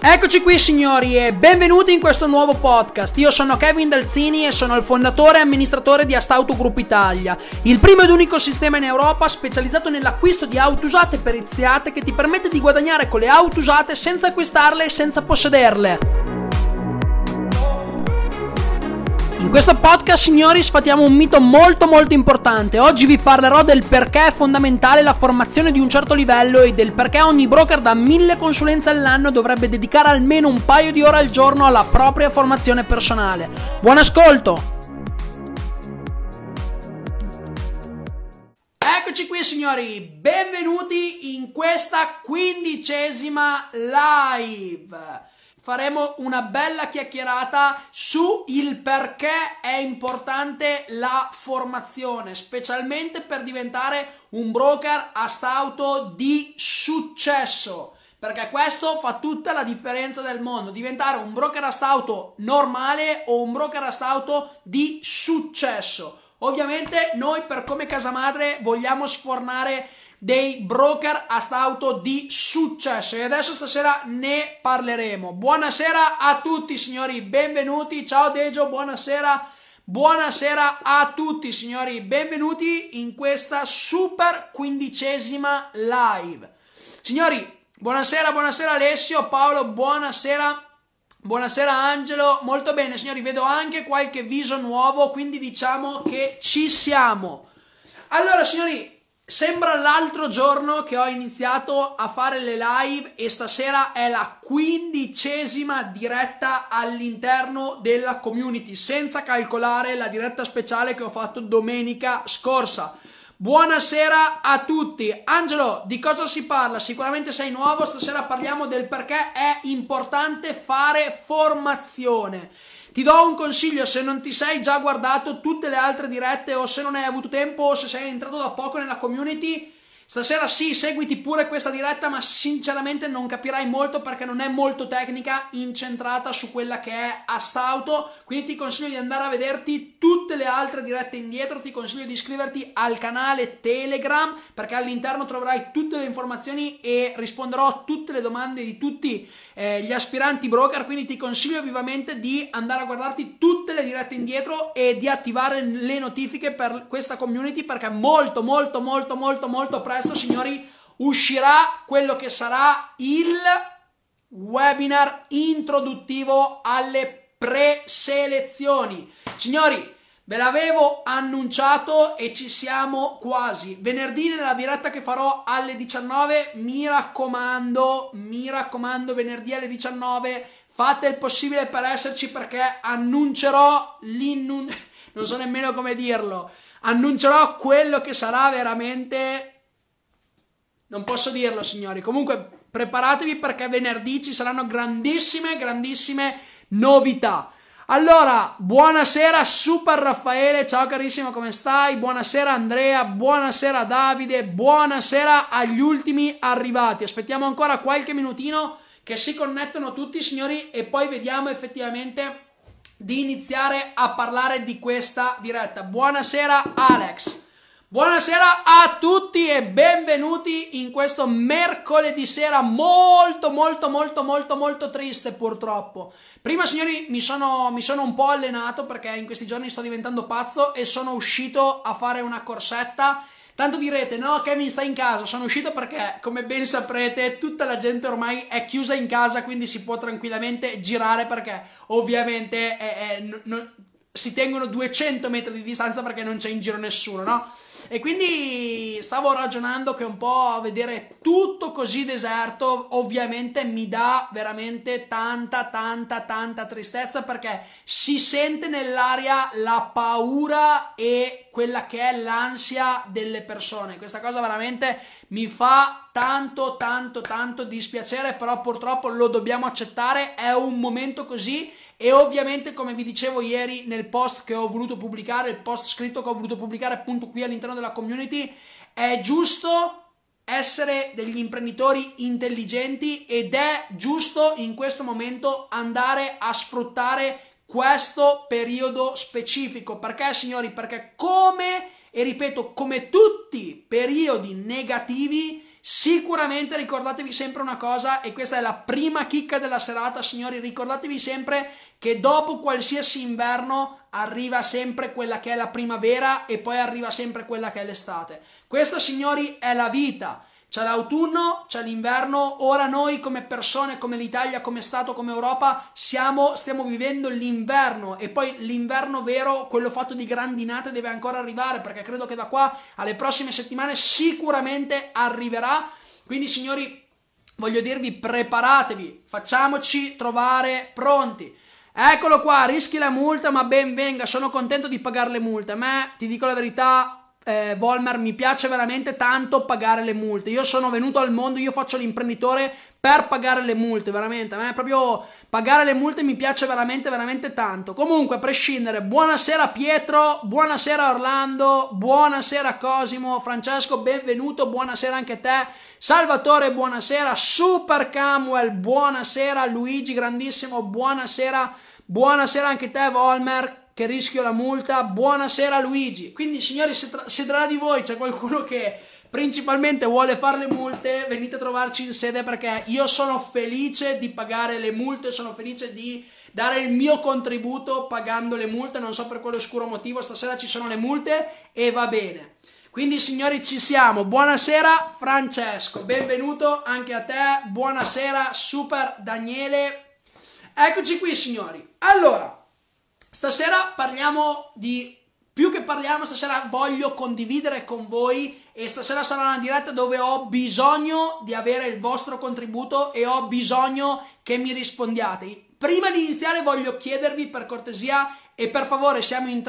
Eccoci qui signori e benvenuti in questo nuovo podcast. Io sono Kevin Dalzini e sono il fondatore e amministratore di Astauto Group Italia, il primo ed unico sistema in Europa specializzato nell'acquisto di auto usate e periziate che ti permette di guadagnare con le auto usate senza acquistarle e senza possederle. In questo podcast, signori, sfatiamo un mito molto importante. Oggi vi parlerò del perché è fondamentale la formazione di un certo livello e del perché ogni broker da 1000 consulenze all'anno dovrebbe dedicare almeno un paio di ore al giorno alla propria formazione personale. Buon ascolto! Eccoci qui signori, benvenuti in questa 15ª live. Faremo una bella chiacchierata su il perché è importante la formazione, specialmente per diventare un broker Astauto di successo, perché questo fa tutta la differenza del mondo, diventare un broker Astauto normale o un broker Astauto di successo. Ovviamente noi per come casa madre vogliamo sfornare dei broker Astauto di successo e adesso stasera ne parleremo. Buonasera a tutti signori, benvenuti. Ciao Dejo, buonasera a tutti signori, benvenuti in questa super 15ª live. Signori, buonasera Alessio, Paolo, buonasera Angelo. Molto bene signori, vedo anche qualche viso nuovo, quindi diciamo che ci siamo. Allora signori, sembra l'altro giorno che ho iniziato a fare le live e stasera è la 15ª diretta all'interno della community, senza calcolare la diretta speciale che ho fatto domenica scorsa. Buonasera a tutti. Angelo, di cosa si parla? Sicuramente sei nuovo, stasera parliamo del perché è importante fare formazione. Ti do un consiglio: se non ti sei già guardato tutte le altre dirette o se non hai avuto tempo o se sei entrato da poco nella community, stasera sì, seguiti pure questa diretta, ma sinceramente non capirai molto perché non è molto tecnica, incentrata su quella che è Astauto, quindi ti consiglio di andare a vederti tutte le altre dirette indietro, ti consiglio di iscriverti al canale Telegram perché all'interno troverai tutte le informazioni e risponderò a tutte le domande di tutti gli aspiranti broker, quindi ti consiglio vivamente di andare a guardarti tutte le dirette indietro e di attivare le notifiche per questa community perché molto presto signori uscirà quello che sarà il webinar introduttivo alle preselezioni. Signori, ve l'avevo annunciato e ci siamo quasi. Venerdì nella diretta che farò alle 19, mi raccomando, venerdì alle 19 fate il possibile per esserci perché annuncerò non so nemmeno come dirlo, annuncerò quello che sarà veramente, non posso dirlo signori, comunque preparatevi perché venerdì ci saranno grandissime novità. Allora, buonasera Super Raffaele, ciao carissimo, come stai? Buonasera Andrea, buonasera Davide, buonasera agli ultimi arrivati. Aspettiamo ancora qualche minutino che si connettono tutti signori e poi vediamo effettivamente di iniziare a parlare di questa diretta. Buonasera Alex. Buonasera a tutti e benvenuti in questo mercoledì sera molto triste purtroppo. Prima signori mi sono un po' allenato perché in questi giorni sto diventando pazzo e sono uscito a fare una corsetta. Tanto direte, no Kevin stai in casa, sono uscito perché come ben saprete tutta la gente ormai è chiusa in casa, quindi si può tranquillamente girare perché ovviamente si tengono 200 metri di distanza perché non c'è in giro nessuno, no? E quindi stavo ragionando che un po' vedere tutto così deserto ovviamente mi dà veramente tanta tristezza perché si sente nell'aria la paura e quella che è l'ansia delle persone. Questa cosa veramente mi fa tanto dispiacere, però purtroppo lo dobbiamo accettare, è un momento così. E ovviamente, come vi dicevo ieri nel post che ho voluto pubblicare, il post scritto che ho voluto pubblicare appunto qui all'interno della community, è giusto essere degli imprenditori intelligenti ed è giusto in questo momento andare a sfruttare questo periodo specifico. Perché signori? Perché come tutti periodi negativi sicuramente ricordatevi sempre una cosa, e questa è la prima chicca della serata, signori, ricordatevi sempre che dopo qualsiasi inverno arriva sempre quella che è la primavera e poi arriva sempre quella che è l'estate. Questa, signori, è la vita. C'è l'autunno, c'è l'inverno. Ora noi come persone, come l'Italia, come Stato, come Europa stiamo vivendo l'inverno, e poi l'inverno vero, quello fatto di grandinate, deve ancora arrivare, perché credo che da qua alle prossime settimane sicuramente arriverà. Quindi, signori, voglio dirvi, preparatevi, facciamoci trovare pronti. Eccolo qua, rischi la multa, ma ben venga, sono contento di pagare le multe. A me, ti dico la verità, Volmer, mi piace veramente tanto pagare le multe. Io sono venuto al mondo, io faccio l'imprenditore per pagare le multe, veramente. A me proprio pagare le multe mi piace veramente, veramente tanto. Comunque, a prescindere, buonasera Pietro, buonasera Orlando, buonasera Cosimo, Francesco, benvenuto, buonasera anche a te. Salvatore, buonasera. Super Camuel, buonasera. Luigi, grandissimo, buonasera. Buonasera anche te, Volmer, che rischio la multa. Buonasera Luigi. Quindi, signori, se tra di voi c'è qualcuno che principalmente vuole fare le multe, venite a trovarci in sede, perché io sono felice di pagare le multe, sono felice di dare il mio contributo pagando le multe. Non so per quale oscuro motivo stasera ci sono le multe e va bene. Quindi, signori, ci siamo. Buonasera Francesco, benvenuto anche a te. Buonasera Super Daniele. Eccoci qui, signori. Allora, stasera parliamo di... più che parliamo, stasera voglio condividere con voi, e stasera sarà una diretta dove ho bisogno di avere il vostro contributo e ho bisogno che mi rispondiate. Prima di iniziare voglio chiedervi, per cortesia e per favore, siamo in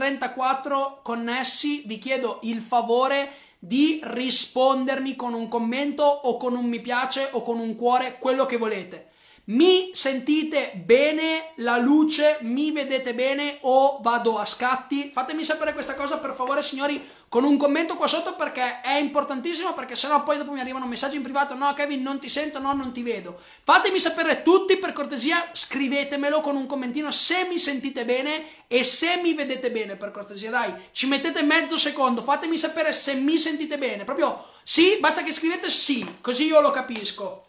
34 connessi, vi chiedo il favore di rispondermi con un commento o con un mi piace o con un cuore, quello che volete. Mi sentite bene? La luce? Mi vedete bene o vado a scatti? Fatemi sapere questa cosa, per favore, signori, con un commento qua sotto, perché è importantissimo, perché sennò poi dopo mi arrivano messaggi in privato: no Kevin, non ti sento, no, non ti vedo. Fatemi sapere tutti, per cortesia, scrivetemelo con un commentino se mi sentite bene e se mi vedete bene, per cortesia, dai, ci mettete mezzo secondo, fatemi sapere se mi sentite bene, proprio sì, basta che scrivete sì, così io lo capisco.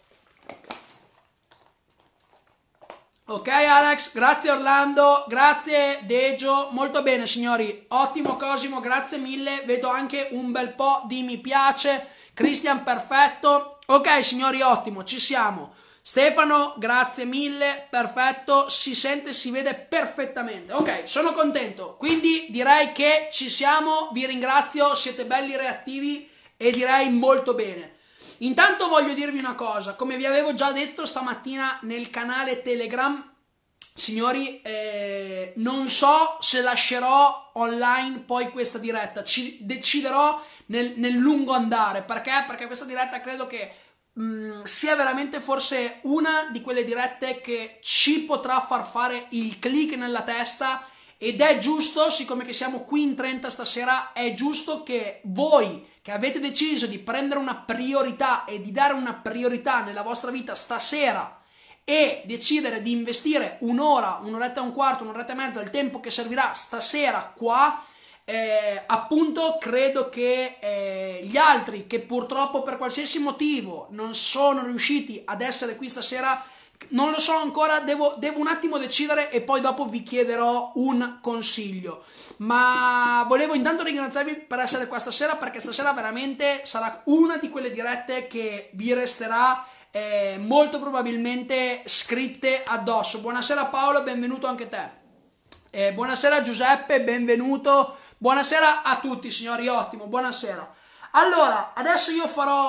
Ok Alex, grazie Orlando, grazie Dejo, molto bene signori, ottimo Cosimo, grazie mille, vedo anche un bel po' di mi piace, Christian perfetto, ok signori, ottimo, ci siamo. Stefano, grazie mille, perfetto, si sente e si vede perfettamente, ok, sono contento, quindi direi che ci siamo, vi ringrazio, siete belli reattivi e direi molto bene. Intanto voglio dirvi una cosa, come vi avevo già detto stamattina nel canale Telegram, signori, non so se lascerò online poi questa diretta, ci deciderò nel lungo andare, perché questa diretta credo che sia veramente forse una di quelle dirette che ci potrà far fare il click nella testa, ed è giusto, siccome che siamo qui in 30 stasera, è giusto che voi che avete deciso di prendere una priorità e di dare una priorità nella vostra vita stasera e decidere di investire un'ora, un'oretta e un quarto, un'oretta e mezza, il tempo che servirà stasera qua, appunto credo che gli altri che purtroppo per qualsiasi motivo non sono riusciti ad essere qui stasera, non lo so ancora, devo un attimo decidere e poi dopo vi chiederò un consiglio. Ma volevo intanto ringraziarvi per essere qua stasera, perché stasera veramente sarà una di quelle dirette che vi resterà molto probabilmente scritte addosso. Buonasera Paolo, benvenuto anche te. Buonasera Giuseppe, benvenuto. Buonasera a tutti signori, ottimo, buonasera. Allora, adesso io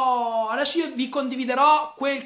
vi condividerò quel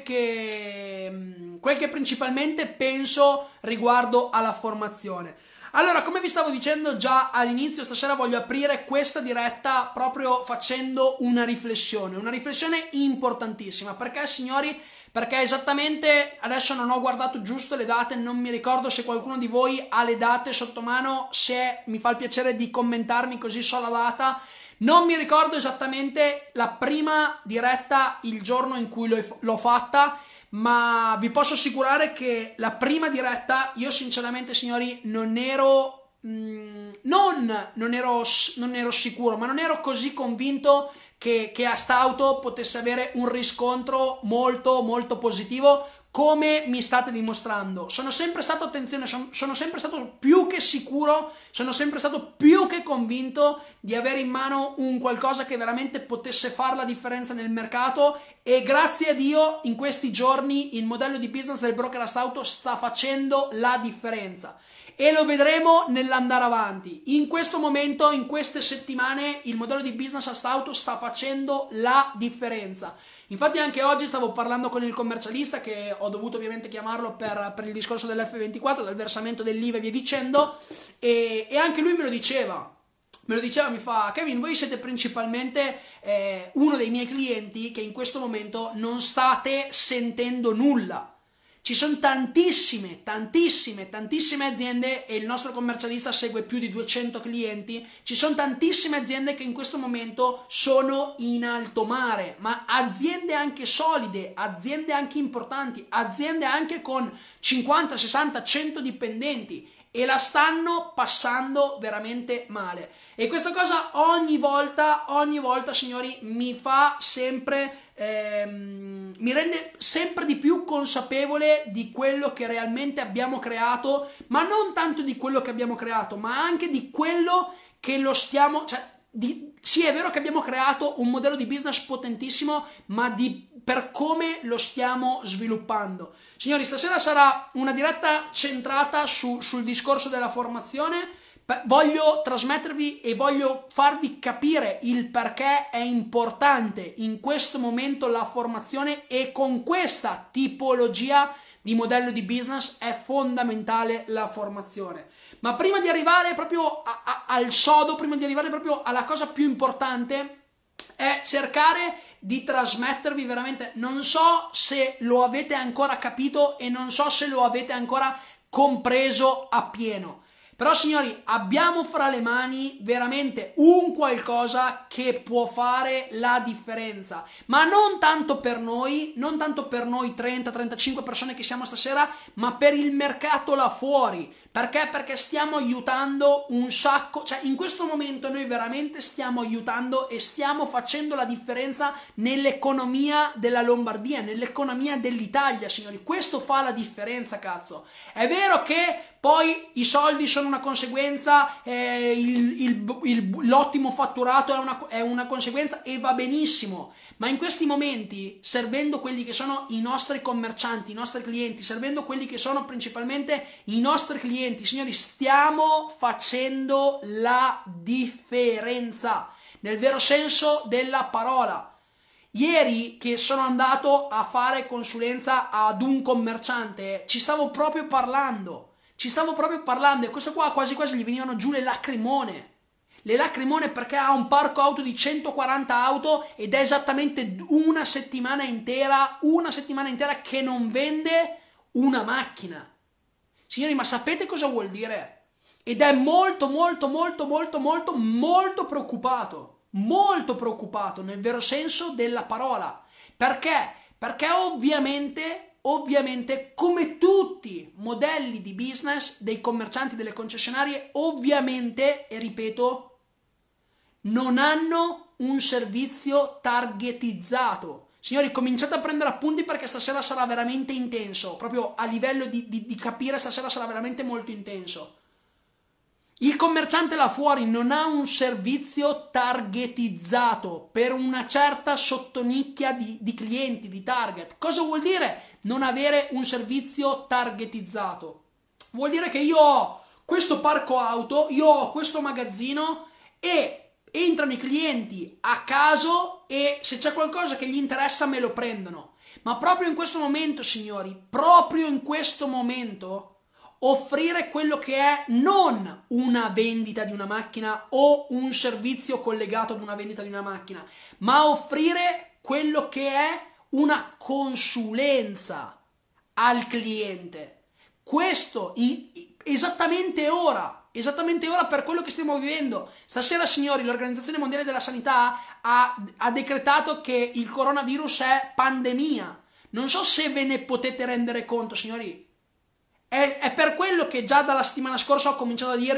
che principalmente penso riguardo alla formazione. Allora, come vi stavo dicendo già all'inizio, stasera voglio aprire questa diretta proprio facendo una riflessione importantissima. Perché, signori? Perché esattamente, adesso non ho guardato giusto le date, non mi ricordo se qualcuno di voi ha le date sotto mano, se mi fa il piacere di commentarmi così so la data. Non mi ricordo esattamente la prima diretta, il giorno in cui l'ho fatta, ma vi posso assicurare che la prima diretta io sinceramente, signori, non ero sicuro, ma non ero così convinto che a st'auto potesse avere un riscontro molto molto positivo, come mi state dimostrando. Sono sempre stato, attenzione, sono sempre stato più che sicuro, sono sempre stato più che convinto di avere in mano un qualcosa che veramente potesse fare la differenza nel mercato, e grazie a Dio in questi giorni il modello di business del broker auto sta facendo la differenza. E lo vedremo nell'andare avanti. In questo momento, in queste settimane, il modello di business auto sta facendo la differenza. Infatti anche oggi stavo parlando con il commercialista, che ho dovuto ovviamente chiamarlo per il discorso dell'F24, del versamento dell'IVA e via dicendo, e anche lui me lo diceva, mi fa: Kevin, voi siete principalmente uno dei miei clienti che in questo momento non state sentendo nulla. Ci sono tantissime aziende, e il nostro commercialista segue più di 200 clienti. Ci sono tantissime aziende che in questo momento sono in alto mare, ma aziende anche solide, aziende anche importanti, aziende anche con 50, 60, 100 dipendenti, e la stanno passando veramente male. E questa cosa ogni volta, signori, mi fa sempre, mi rende sempre di più consapevole di quello che realmente abbiamo creato, ma non tanto di quello che abbiamo creato, ma anche di quello che lo stiamo, sì, è vero che abbiamo creato un modello di business potentissimo, ma per come lo stiamo sviluppando. Signori, stasera sarà una diretta centrata sul discorso della formazione. Voglio trasmettervi e voglio farvi capire il perché è importante in questo momento la formazione, e con questa tipologia di modello di business è fondamentale la formazione. Ma prima di arrivare proprio al sodo, prima di arrivare proprio alla cosa più importante, è cercare di trasmettervi veramente, non so se lo avete ancora capito e non so se lo avete ancora compreso appieno. Però signori, abbiamo fra le mani veramente un qualcosa che può fare la differenza, ma non tanto per noi 30-35 persone che siamo stasera, ma per il mercato là fuori. Perché? Perché stiamo aiutando un sacco, in questo momento noi veramente stiamo aiutando e stiamo facendo la differenza nell'economia della Lombardia, nell'economia dell'Italia, signori. Questo fa la differenza, cazzo. È vero che poi i soldi sono una conseguenza, l'ottimo fatturato è una conseguenza, e va benissimo, ma in questi momenti, servendo quelli che sono i nostri commercianti, i nostri clienti, servendo quelli che sono principalmente i nostri clienti, signori, stiamo facendo la differenza, nel vero senso della parola. Ieri che sono andato a fare consulenza ad un commerciante, ci stavo proprio parlando, e questo qua quasi quasi gli venivano giù le lacrimone, perché ha un parco auto di 140 auto ed è esattamente una settimana intera che non vende una macchina. Signori, ma sapete cosa vuol dire? Ed è molto preoccupato nel vero senso della parola. Perché? Perché ovviamente come tutti modelli di business dei commercianti, delle concessionarie, ovviamente, e ripeto, non hanno un servizio targetizzato. Signori, cominciate a prendere appunti, perché stasera sarà veramente intenso, proprio a livello di capire, stasera sarà veramente molto intenso. Il commerciante là fuori non ha un servizio targetizzato per una certa sottonicchia di clienti, di target. Cosa vuol dire non avere un servizio targetizzato? Vuol dire che io ho questo parco auto, io ho questo magazzino, e entrano i clienti a caso, e se c'è qualcosa che gli interessa me lo prendono. Ma proprio in questo momento, signori, offrire quello che è non una vendita di una macchina o un servizio collegato ad una vendita di una macchina, ma offrire quello che è una consulenza al cliente. Questo esattamente ora per quello che stiamo vivendo. Stasera, signori, l'Organizzazione Mondiale della Sanità ha decretato che il coronavirus è pandemia. Non so se ve ne potete rendere conto, signori. È per quello che già dalla settimana scorsa ho cominciato a dirvi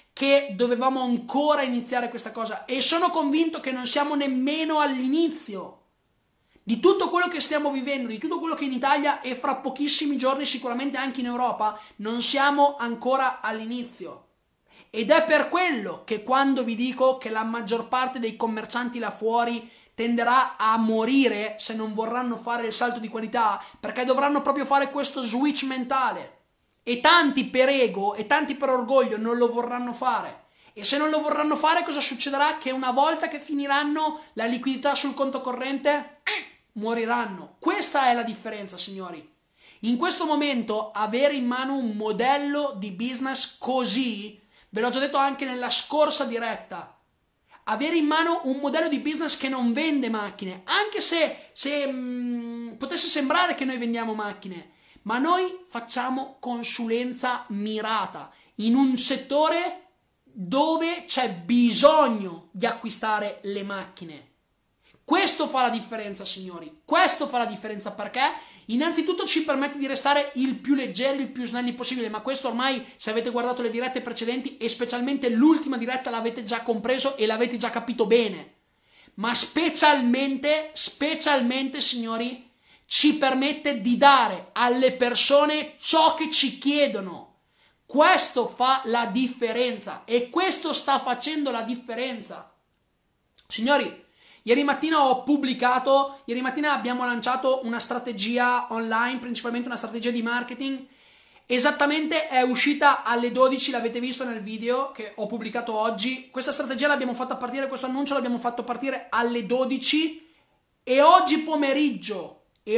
che dovevamo ancora iniziare questa cosa e sono convinto che non siamo nemmeno all'inizio di tutto quello che stiamo vivendo, di tutto quello che in Italia e fra pochissimi giorni sicuramente anche in Europa, non siamo ancora all'inizio. Ed è per quello che quando vi dico che la maggior parte dei commercianti là fuori tenderà a morire se non vorranno fare il salto di qualità, perché dovranno proprio fare questo switch mentale. E tanti per ego e tanti per orgoglio non lo vorranno fare. E se non lo vorranno fare, cosa succederà? Che una volta che finiranno la liquidità sul conto corrente, moriranno. Questa è la differenza, signori. In questo momento avere in mano un modello di business così, ve l'ho già detto anche nella scorsa diretta, avere in mano un modello di business che non vende macchine, anche se potesse sembrare che noi vendiamo macchine, ma noi facciamo consulenza mirata in un settore dove c'è bisogno di acquistare le macchine. Questo fa la differenza, signori. Questo fa la differenza perché innanzitutto ci permette di restare il più leggeri, il più snelli possibile, ma questo ormai, se avete guardato le dirette precedenti e specialmente l'ultima diretta, l'avete già compreso e l'avete già capito bene. Ma specialmente, signori, ci permette di dare alle persone ciò che ci chiedono. Questo fa la differenza e questo sta facendo la differenza. Signori, ieri mattina abbiamo lanciato una strategia online, principalmente una strategia di marketing. Esattamente è uscita alle 12, l'avete visto nel video che ho pubblicato oggi. Questa strategia l'abbiamo fatta partire, questo annuncio l'abbiamo fatto partire alle 12 e oggi pomeriggio,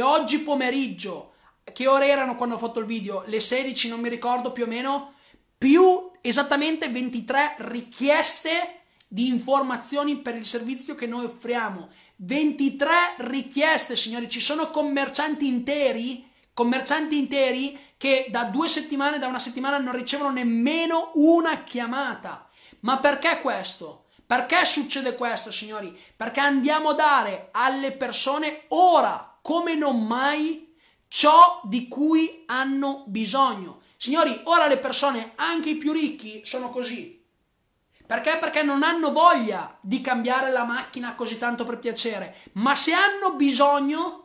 che ore erano quando ho fatto il video? Le 16, non mi ricordo più o meno, più esattamente 23 richieste di informazioni per il servizio che noi offriamo. 23 richieste, signori. Ci sono commercianti interi che da una settimana non ricevono nemmeno una chiamata. Ma perché questo? Perché succede questo, signori? Perché andiamo a dare alle persone ora, come non mai, ciò di cui hanno bisogno. Signori, ora le persone, anche i più ricchi, sono così. Perché? Perché non hanno voglia di cambiare la macchina così tanto per piacere, ma se hanno bisogno,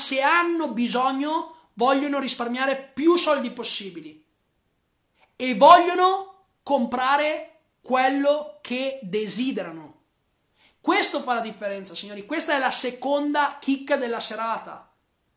vogliono risparmiare più soldi possibili e vogliono comprare quello che desiderano. Questo fa la differenza, signori. Questa è la seconda chicca della serata.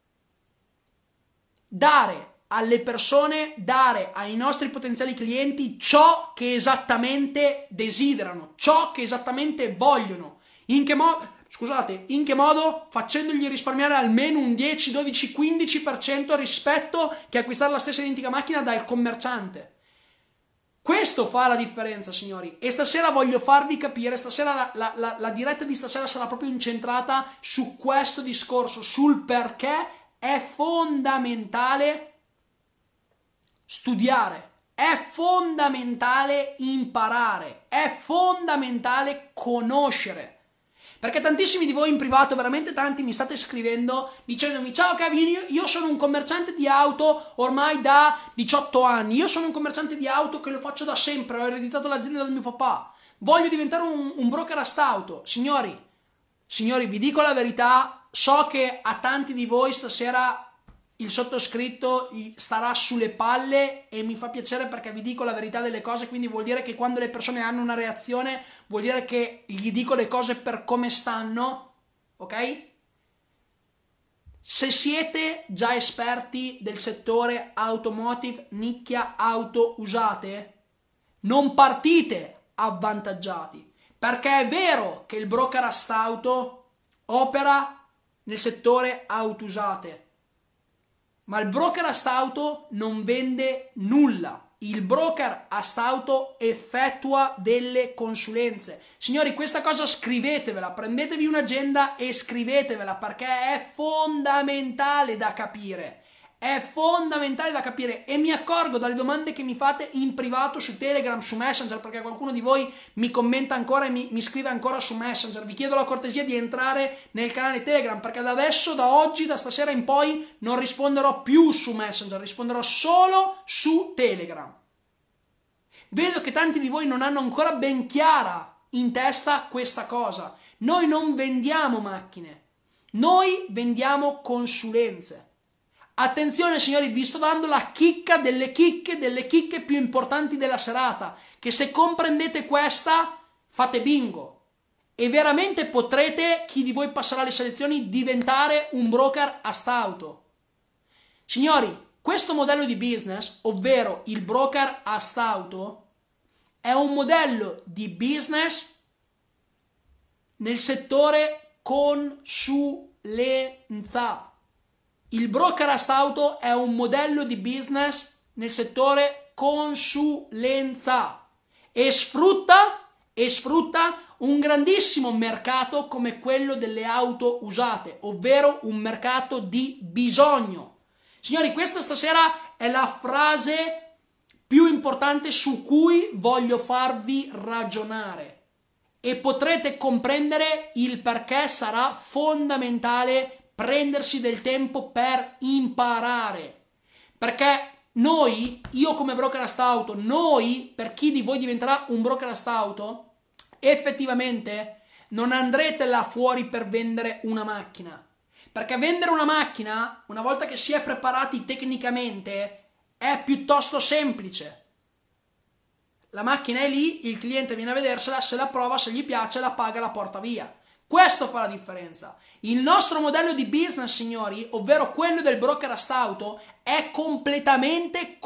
Dare alle persone, dare ai nostri potenziali clienti ciò che esattamente desiderano, ciò che esattamente vogliono. In che modo? Facendogli risparmiare almeno un 10, 12, 15% rispetto che acquistare la stessa identica macchina dal commerciante. Questo fa la differenza, signori. E stasera voglio farvi capire, stasera la diretta di stasera sarà proprio incentrata su questo discorso, sul perché è fondamentale studiare, è fondamentale imparare, è fondamentale conoscere. Perché tantissimi di voi in privato, veramente tanti, mi state scrivendo dicendomi: ciao Kevin, io sono un commerciante di auto ormai da 18 anni, io sono un commerciante di auto che lo faccio da sempre, ho ereditato l'azienda dal mio papà, voglio diventare un broker auto. Signori, vi dico la verità, so che a tanti di voi stasera il sottoscritto starà sulle palle e mi fa piacere perché vi dico la verità delle cose, quindi vuol dire che quando le persone hanno una reazione vuol dire che gli dico le cose per come stanno, ok? Se siete già esperti del settore automotive, nicchia auto usate, non partite avvantaggiati, perché è vero che il broker auto opera nel settore auto usate, ma il broker auto non vende nulla. Il broker auto effettua delle consulenze. Signori, questa cosa scrivetevela, prendetevi un'agenda e scrivetevela perché è fondamentale da capire. È fondamentale da capire e mi accorgo dalle domande che mi fate in privato su Telegram, su Messenger, perché qualcuno di voi mi commenta ancora e mi scrive ancora su Messenger. Vi chiedo la cortesia di entrare nel canale Telegram perché da adesso, da oggi, da stasera in poi non risponderò più su Messenger, risponderò solo su Telegram. Vedo che tanti di voi non hanno ancora ben chiara in testa questa cosa. Noi non vendiamo macchine, noi vendiamo consulenze. Attenzione signori, vi sto dando la chicca delle chicche più importanti della serata, che se comprendete questa fate bingo e veramente potrete, chi di voi passerà le selezioni, diventare un broker a stauto. Signori, questo modello di business, ovvero il broker a stauto, è un modello di business nel settore consulenza. Il broker a stauto è un modello di business nel settore consulenza e sfrutta un grandissimo mercato come quello delle auto usate, ovvero un mercato di bisogno. Signori, questa stasera è la frase più importante su cui voglio farvi ragionare e potrete comprendere il perché sarà fondamentale prendersi del tempo per imparare. Perché noi, io come broker a stauto, noi, per chi di voi diventerà un broker a stauto, effettivamente non andrete là fuori per vendere una macchina. Perché vendere una macchina, una volta che si è preparati tecnicamente, è piuttosto semplice. La macchina è lì, il cliente viene a vedersela, se la prova, se gli piace, la paga, la porta via. Questo fa la differenza. Il nostro modello di business, signori, ovvero quello del broker a stauto, è completamente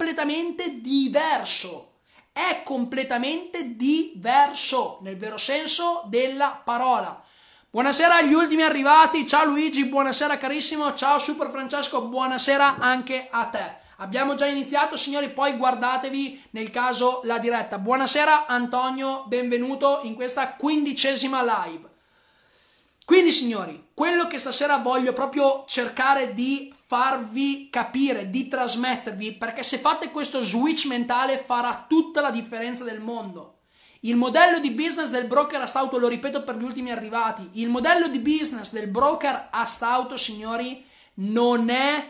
diverso. È completamente diverso, nel vero senso della parola. Buonasera agli ultimi arrivati, ciao Luigi, buonasera carissimo, ciao Super Francesco, buonasera anche a te. Abbiamo già iniziato signori, poi guardatevi nel caso la diretta. Buonasera Antonio, benvenuto in questa 15ª live. Quindi signori, quello che stasera voglio proprio cercare di farvi capire, di trasmettervi, perché se fate questo switch mentale farà tutta la differenza del mondo. Il modello di business del broker a stauto, lo ripeto per gli ultimi arrivati, il modello di business del broker a stauto, signori, non è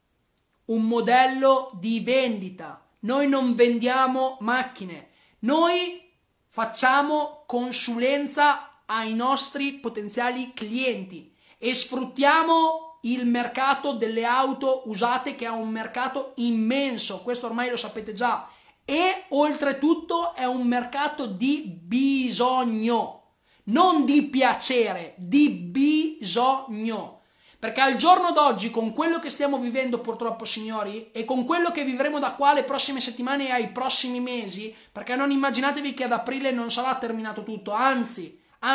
un modello di vendita. Noi non vendiamo macchine, noi facciamo consulenza ai nostri potenziali clienti e sfruttiamo il mercato delle auto usate, che è un mercato immenso, questo ormai lo sapete già, e oltretutto è un mercato di bisogno, non di piacere, di bisogno. Perché al giorno d'oggi, con quello che stiamo vivendo purtroppo signori, e con quello che vivremo da qua alle prossime settimane e ai prossimi mesi, perché non immaginatevi che ad aprile non sarà terminato tutto, anzi,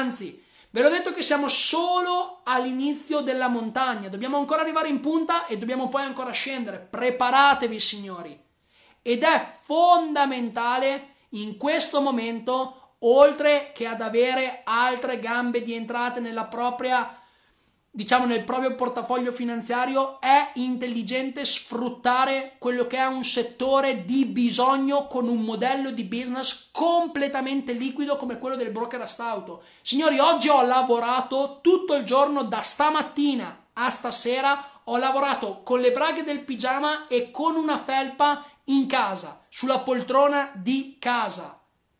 ve l'ho detto che siamo solo all'inizio della montagna, dobbiamo ancora arrivare in punta e dobbiamo poi ancora scendere, preparatevi signori. Ed è fondamentale in questo momento, oltre che ad avere altre gambe di entrate nella propria, diciamo nel proprio portafoglio finanziario, è intelligente sfruttare quello che è un settore di bisogno con un modello di business completamente liquido come quello del broker a stauto. Signori, oggi ho lavorato tutto il giorno, da stamattina a stasera, ho lavorato con le braghe del pigiama e con una felpa in casa, sulla poltrona di casa.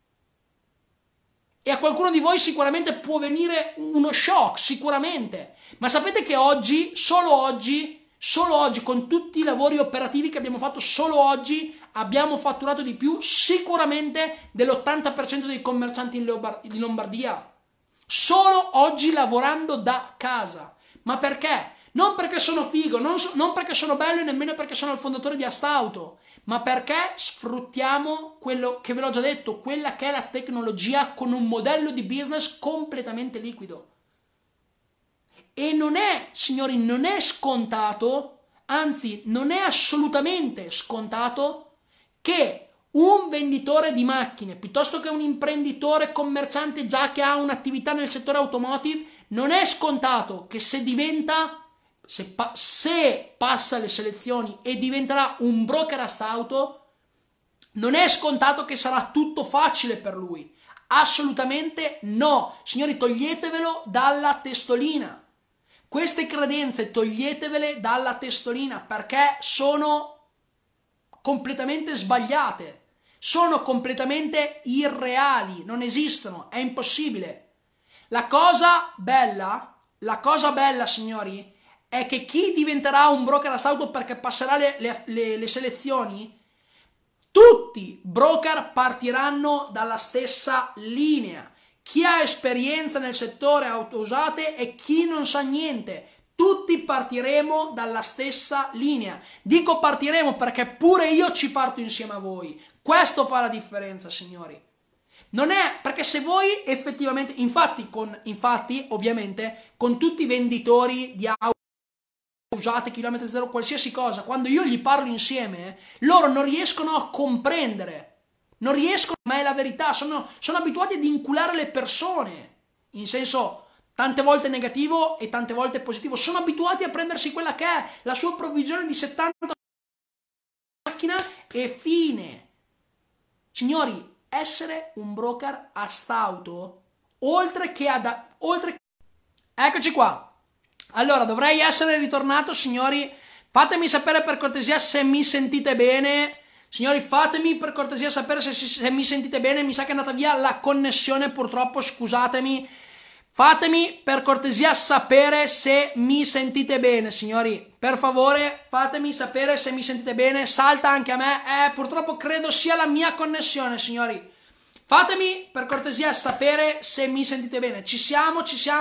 E a qualcuno di voi sicuramente può venire uno shock, sicuramente. Ma sapete che oggi, solo oggi, con tutti i lavori operativi che abbiamo fatto, solo oggi abbiamo fatturato di più sicuramente dell'80% dei commercianti in Lombardia. Solo oggi lavorando da casa. Ma perché? Non perché sono figo, non perché sono bello e nemmeno perché sono il fondatore di Astauto, ma perché sfruttiamo quello che ve l'ho già detto, quella che è la tecnologia con un modello di business completamente liquido. E non è, signori, non è scontato, anzi non è assolutamente scontato che un venditore di macchine, piuttosto che un imprenditore commerciante già che ha un'attività nel settore automotive, non è scontato che se passa le selezioni e diventerà un broker a stauto, non è scontato che sarà tutto facile per lui. Assolutamente no. Signori, toglietevelo dalla testolina. Queste credenze toglietevele dalla testolina, perché sono completamente sbagliate. sono completamente irreali, non esistono, è impossibile. La cosa bella, signori, è che chi diventerà un broker astauto perché passerà le selezioni, tutti broker partiranno dalla stessa linea. Chi ha esperienza nel settore auto usate e chi non sa niente. Tutti partiremo dalla stessa linea. Dico partiremo perché pure io ci parto insieme a voi. Questo fa la differenza, signori. Non è perché se voi effettivamente, infatti, ovviamente, con tutti i venditori di auto usate, chilometri zero, qualsiasi cosa, quando io gli parlo insieme, loro non riescono a comprendere. Non riescono, ma è la verità, sono abituati ad inculare le persone, in senso tante volte negativo e tante volte positivo, sono abituati a prendersi quella che è la sua provvigione di 70 macchina e fine. Signori, essere un broker astauto, Eccoci qua. Allora, dovrei essere ritornato, signori, fatemi sapere per cortesia se mi sentite bene. Signori, fatemi per cortesia sapere se mi sentite bene. Mi sa che è andata via la connessione, purtroppo, scusatemi. Fatemi per cortesia sapere se mi sentite bene, signori. Per favore, fatemi sapere se mi sentite bene. Salta anche a me. Purtroppo credo sia la mia connessione, signori. Fatemi per cortesia sapere se mi sentite bene. Ci siamo.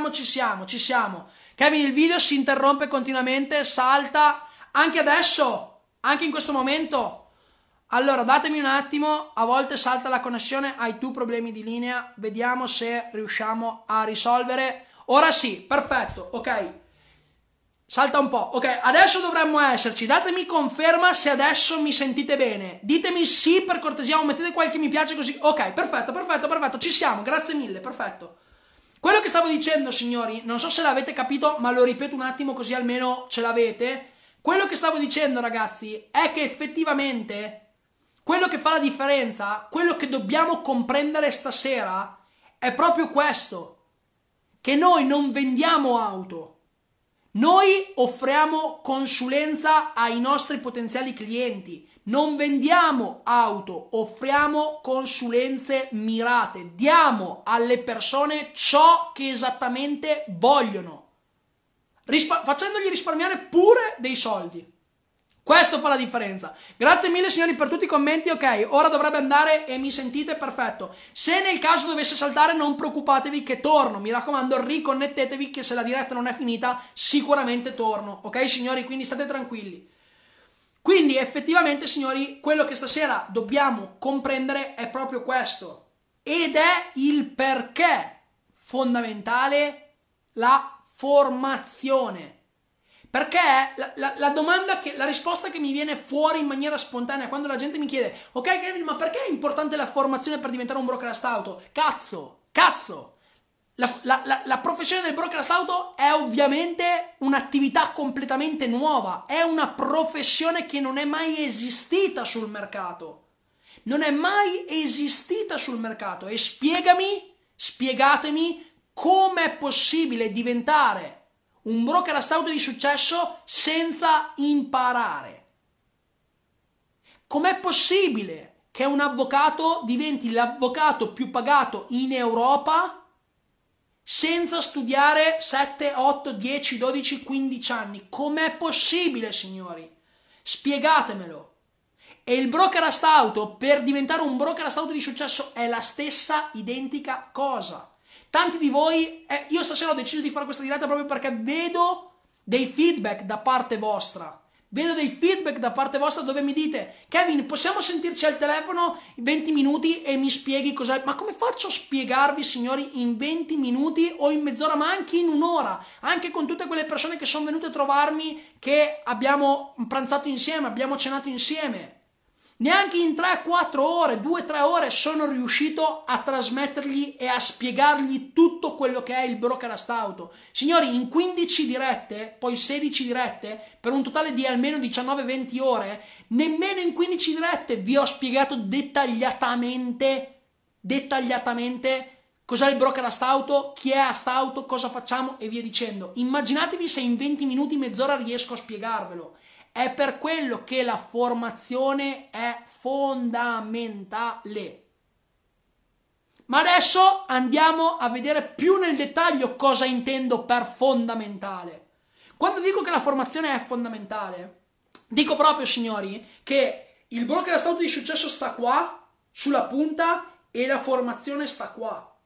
Kevin, il video si interrompe continuamente, salta. Anche adesso, anche in questo momento. Allora, datemi un attimo, a volte salta la connessione, hai tu problemi di linea, vediamo se riusciamo a risolvere. Ora sì, perfetto, ok. Salta un po', ok, adesso dovremmo esserci, datemi conferma se adesso mi sentite bene. Ditemi sì per cortesia o mettete qualche mi piace così. Ok, perfetto, ci siamo, grazie mille, perfetto. Quello che stavo dicendo, signori, non so se l'avete capito, ma lo ripeto un attimo così almeno ce l'avete. Quello che stavo dicendo, ragazzi, è che effettivamente quello che fa la differenza, quello che dobbiamo comprendere stasera, è proprio questo, che noi non vendiamo auto, noi offriamo consulenza ai nostri potenziali clienti, non vendiamo auto, offriamo consulenze mirate, diamo alle persone ciò che esattamente vogliono, facendogli risparmiare pure dei soldi. Questo fa la differenza. Grazie mille, signori, per tutti i commenti. Ok, ora dovrebbe andare e mi sentite perfetto. Se nel caso dovesse saltare, non preoccupatevi che torno. Mi raccomando, riconnettetevi che se la diretta non è finita sicuramente torno. Ok, signori, quindi state tranquilli. Quindi effettivamente, signori, quello che stasera dobbiamo comprendere è proprio questo. Ed è il perché fondamentale la formazione. Perché la risposta che mi viene fuori in maniera spontanea quando la gente mi chiede: ok Kevin, ma perché è importante la formazione per diventare un broker astauto? Cazzo! La professione del broker astauto è ovviamente un'attività completamente nuova, è una professione che non è mai esistita sul mercato. Non è mai esistita sul mercato. E spiegatemi come è possibile diventare un broker astauto di successo senza imparare. Com'è possibile che un avvocato diventi l'avvocato più pagato in Europa senza studiare 7, 8, 10, 12, 15 anni? Com'è possibile, signori? Spiegatemelo. E il broker astauto, per diventare un broker astauto di successo, è la stessa identica cosa. Tanti di voi, io stasera ho deciso di fare questa diretta proprio perché vedo dei feedback da parte vostra. Vedo dei feedback da parte vostra dove mi dite: Kevin, possiamo sentirci al telefono 20 minuti e mi spieghi cos'è? Ma come faccio a spiegarvi, signori, in 20 minuti o in mezz'ora, ma anche in un'ora? Anche con tutte quelle persone che sono venute a trovarmi, che abbiamo pranzato insieme, abbiamo cenato insieme. Neanche in 3-4 ore, 2-3 ore sono riuscito a trasmettergli e a spiegargli tutto quello che è il broker astauto. Signori, in 15 dirette, poi 16 dirette, per un totale di almeno 19-20 ore, nemmeno in 15 dirette vi ho spiegato dettagliatamente cos'è il broker astauto, chi è astauto, cosa facciamo e via dicendo. Immaginatevi se in 20 minuti, mezz'ora riesco a spiegarvelo. È per quello che la formazione è fondamentale. Ma adesso andiamo a vedere più nel dettaglio cosa intendo per fondamentale. Quando dico che la formazione è fondamentale, dico proprio, signori, che il broker stauto di successo sta qua, sulla punta, e la formazione sta qua.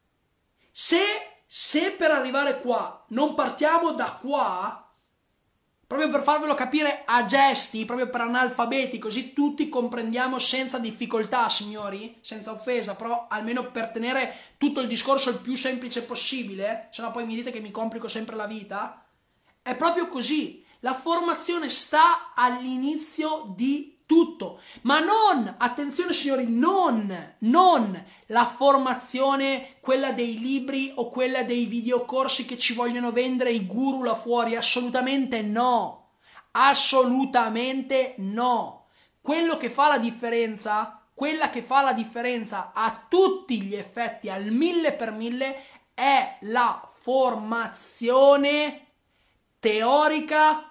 Se per arrivare qua non partiamo da qua, proprio per farvelo capire a gesti, proprio per analfabeti, così tutti comprendiamo senza difficoltà, signori, senza offesa, però almeno per tenere tutto il discorso il più semplice possibile, se no poi mi dite che mi complico sempre la vita. È proprio così, la formazione sta all'inizio di tutto, ma non, attenzione signori, non la formazione, quella dei libri o quella dei videocorsi che ci vogliono vendere i guru là fuori, assolutamente no, quello che fa la differenza, quella che fa la differenza a tutti gli effetti, al 1000%, è la formazione teorica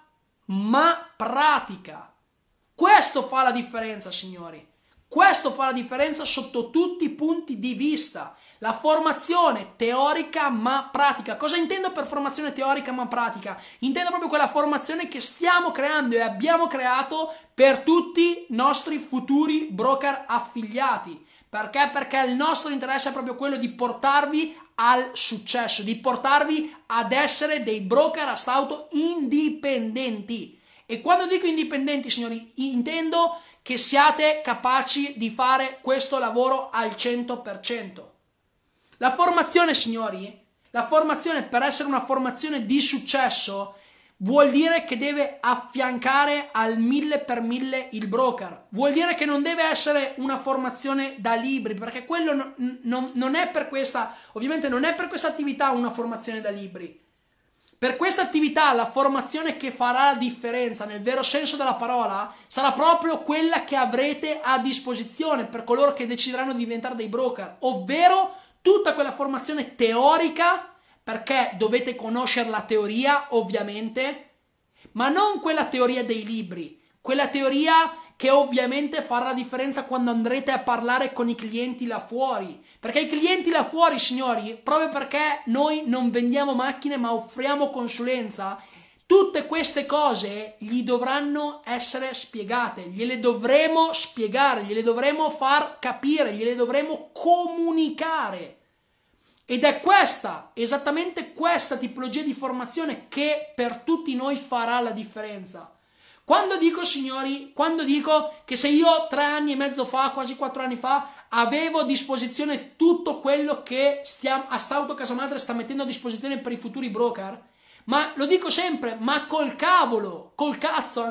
ma pratica. Questo fa la differenza, signori. Questo fa la differenza sotto tutti i punti di vista. La formazione teorica ma pratica. Cosa intendo per formazione teorica ma pratica? Intendo proprio quella formazione che stiamo creando e abbiamo creato per tutti i nostri futuri broker affiliati. Perché? Perché il nostro interesse è proprio quello di portarvi al successo, di portarvi ad essere dei broker a stauto indipendenti. E quando dico indipendenti, signori, intendo che siate capaci di fare questo lavoro al 100%. La formazione, signori, la formazione, per essere una formazione di successo, vuol dire che deve affiancare al 1000% il broker. Vuol dire che non deve essere una formazione da libri, perché quello non è per questa, ovviamente non è per questa attività una formazione da libri. Per questa attività la formazione che farà la differenza nel vero senso della parola sarà proprio quella che avrete a disposizione per coloro che decideranno di diventare dei broker, ovvero tutta quella formazione teorica, perché dovete conoscere la teoria ovviamente, ma non quella teoria dei libri, quella teoria che ovviamente farà la differenza quando andrete a parlare con i clienti là fuori. Perché i clienti là fuori, signori, proprio perché noi non vendiamo macchine ma offriamo consulenza, tutte queste cose gli dovranno essere spiegate, gliele dovremo spiegare, gliele dovremo far capire, gliele dovremo comunicare. Ed è questa, esattamente questa tipologia di formazione che per tutti noi farà la differenza. Quando dico, signori, quando dico che se io 3 anni e mezzo fa, quasi 4 anni fa, avevo a disposizione tutto quello che Astauto Casa Madre sta mettendo a disposizione per i futuri broker, ma lo dico sempre, ma col cazzo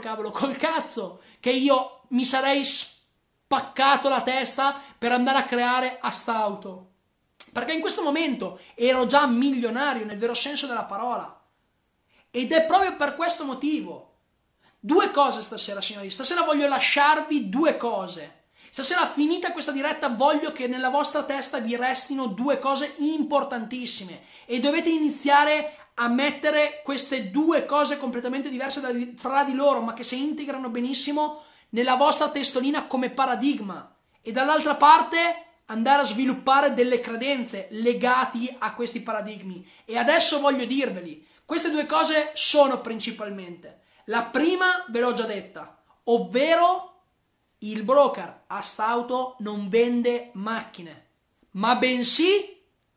che io mi sarei spaccato la testa per andare a creare Astauto. Perché in questo momento ero già milionario nel vero senso della parola. Ed è proprio per questo motivo. 2 cose stasera, signori. Stasera voglio lasciarvi 2 cose. Stasera, finita questa diretta, voglio che nella vostra testa vi restino 2 cose importantissime. E dovete iniziare a mettere queste 2 cose completamente diverse fra di loro, ma che si integrano benissimo nella vostra testolina come paradigma. E dall'altra parte andare a sviluppare delle credenze legate a questi paradigmi. E adesso voglio dirveli, queste 2 cose sono principalmente: la prima ve l'ho già detta, ovvero il broker Astauto non vende macchine, ma bensì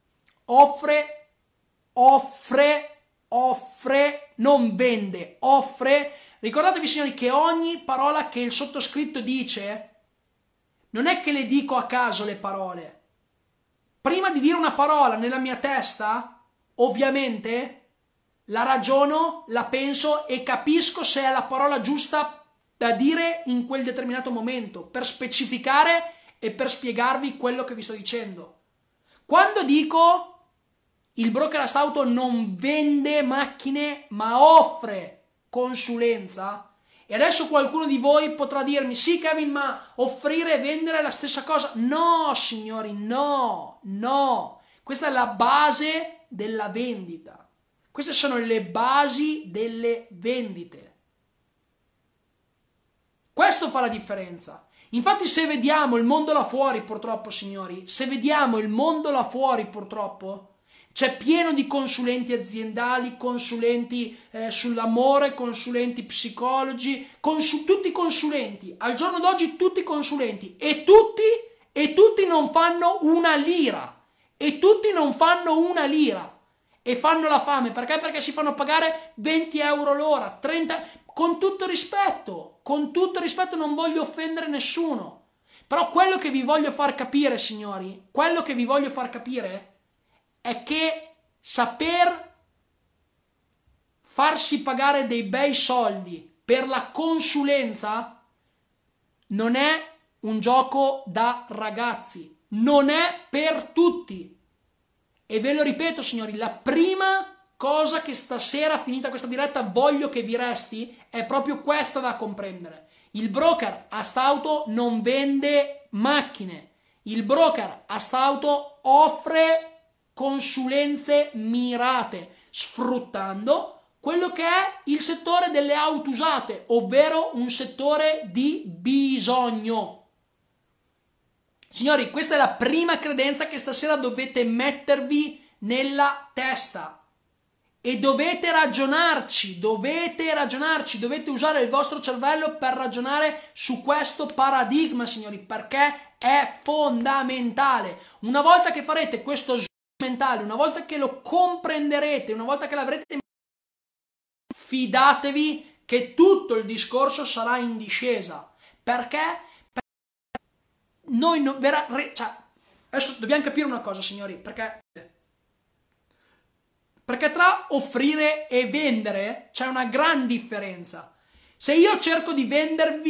non vende, offre. Ricordatevi, signori, che ogni parola che il sottoscritto dice non è che le dico a caso le parole. Prima di dire una parola nella mia testa, ovviamente la ragiono, la penso e capisco se è la parola giusta da dire in quel determinato momento, per specificare e per spiegarvi quello che vi sto dicendo. Quando dico il broker Astauto non vende macchine ma offre consulenza, e adesso qualcuno di voi potrà dirmi: sì Kevin, ma offrire e vendere è la stessa cosa. No signori, no. Questa è la base della vendita. Queste sono le basi delle vendite. Questo fa la differenza. Infatti se vediamo il mondo là fuori, purtroppo, signori, se vediamo il mondo là fuori, purtroppo, c'è pieno di consulenti aziendali, consulenti sull'amore, consulenti psicologi, tutti consulenti. Al giorno d'oggi tutti consulenti e tutti non fanno una lira. E tutti non fanno una lira. E fanno la fame. Perché? Perché si fanno pagare 20 euro l'ora, 30... Con tutto rispetto, non voglio offendere nessuno. Però quello che vi voglio far capire, signori, quello che vi voglio far capire è che saper farsi pagare dei bei soldi per la consulenza non è un gioco da ragazzi, non è per tutti. E ve lo ripeto, signori, la prima cosa che stasera, finita questa diretta, voglio che vi resti è proprio questa da comprendere. Il broker Astauto non vende macchine. Il broker Astauto offre consulenze mirate, sfruttando quello che è il settore delle auto usate, ovvero un settore di bisogno. Signori, questa è la prima credenza che stasera dovete mettervi nella testa. E dovete ragionarci, dovete usare il vostro cervello per ragionare su questo paradigma, signori, perché è fondamentale. Una volta che farete questo switch mentale, una volta che lo comprenderete, una volta che l'avrete, fidatevi che tutto il discorso sarà in discesa. Perché? Noi adesso dobbiamo capire una cosa, signori, perché tra offrire e vendere c'è una gran differenza. Se io cerco di vendervi...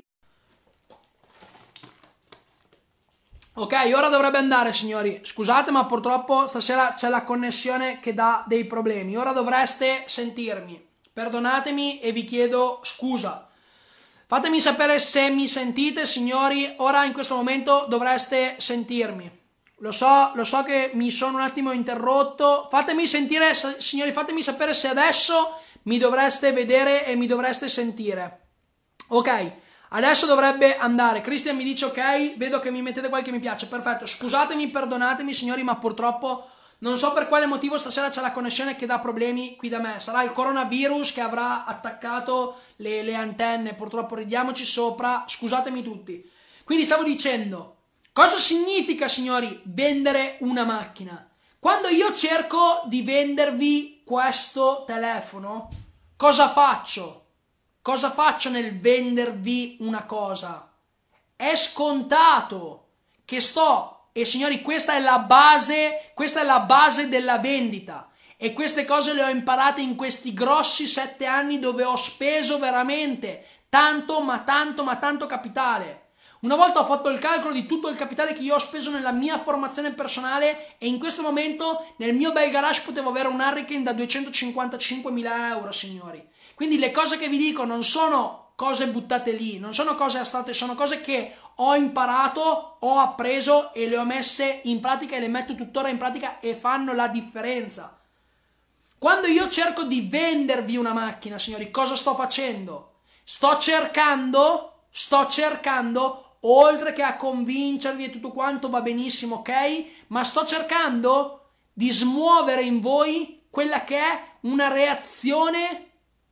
Ok, ora dovrebbe andare, signori. Scusate, ma purtroppo stasera c'è la connessione che dà dei problemi. Ora dovreste sentirmi. Perdonatemi e vi chiedo scusa. Fatemi sapere se mi sentite, signori. Ora in questo momento dovreste sentirmi. Lo so che mi sono un attimo interrotto. Fatemi sentire, signori, fatemi sapere se adesso mi dovreste vedere e mi dovreste sentire. Ok, adesso dovrebbe andare. Cristian mi dice ok, vedo che mi mettete qualche mi piace. Perfetto, scusatemi, perdonatemi, signori, ma purtroppo non so per quale motivo stasera c'è la connessione che dà problemi qui da me. Sarà il coronavirus che avrà attaccato le antenne. Purtroppo ridiamoci sopra. Scusatemi tutti. Quindi stavo dicendo... Cosa significa, signori, vendere una macchina? Quando io cerco di vendervi questo telefono, cosa faccio? Cosa faccio nel vendervi una cosa? È scontato che e signori, questa è la base della vendita. E queste cose le ho imparate in questi grossi 7 anni dove ho speso veramente tanto capitale. Una volta ho fatto il calcolo di tutto il capitale che io ho speso nella mia formazione personale e in questo momento nel mio bel garage potevo avere un Hurricane da 255.000 euro, signori. Quindi le cose che vi dico non sono cose buttate lì, non sono cose astratte, sono cose che ho imparato, ho appreso e le ho messe in pratica e le metto tuttora in pratica e fanno la differenza. Quando io cerco di vendervi una macchina, signori, cosa sto facendo? Sto cercando, oltre che a convincervi e tutto quanto va benissimo, ok? Ma sto cercando di smuovere in voi quella che è una reazione.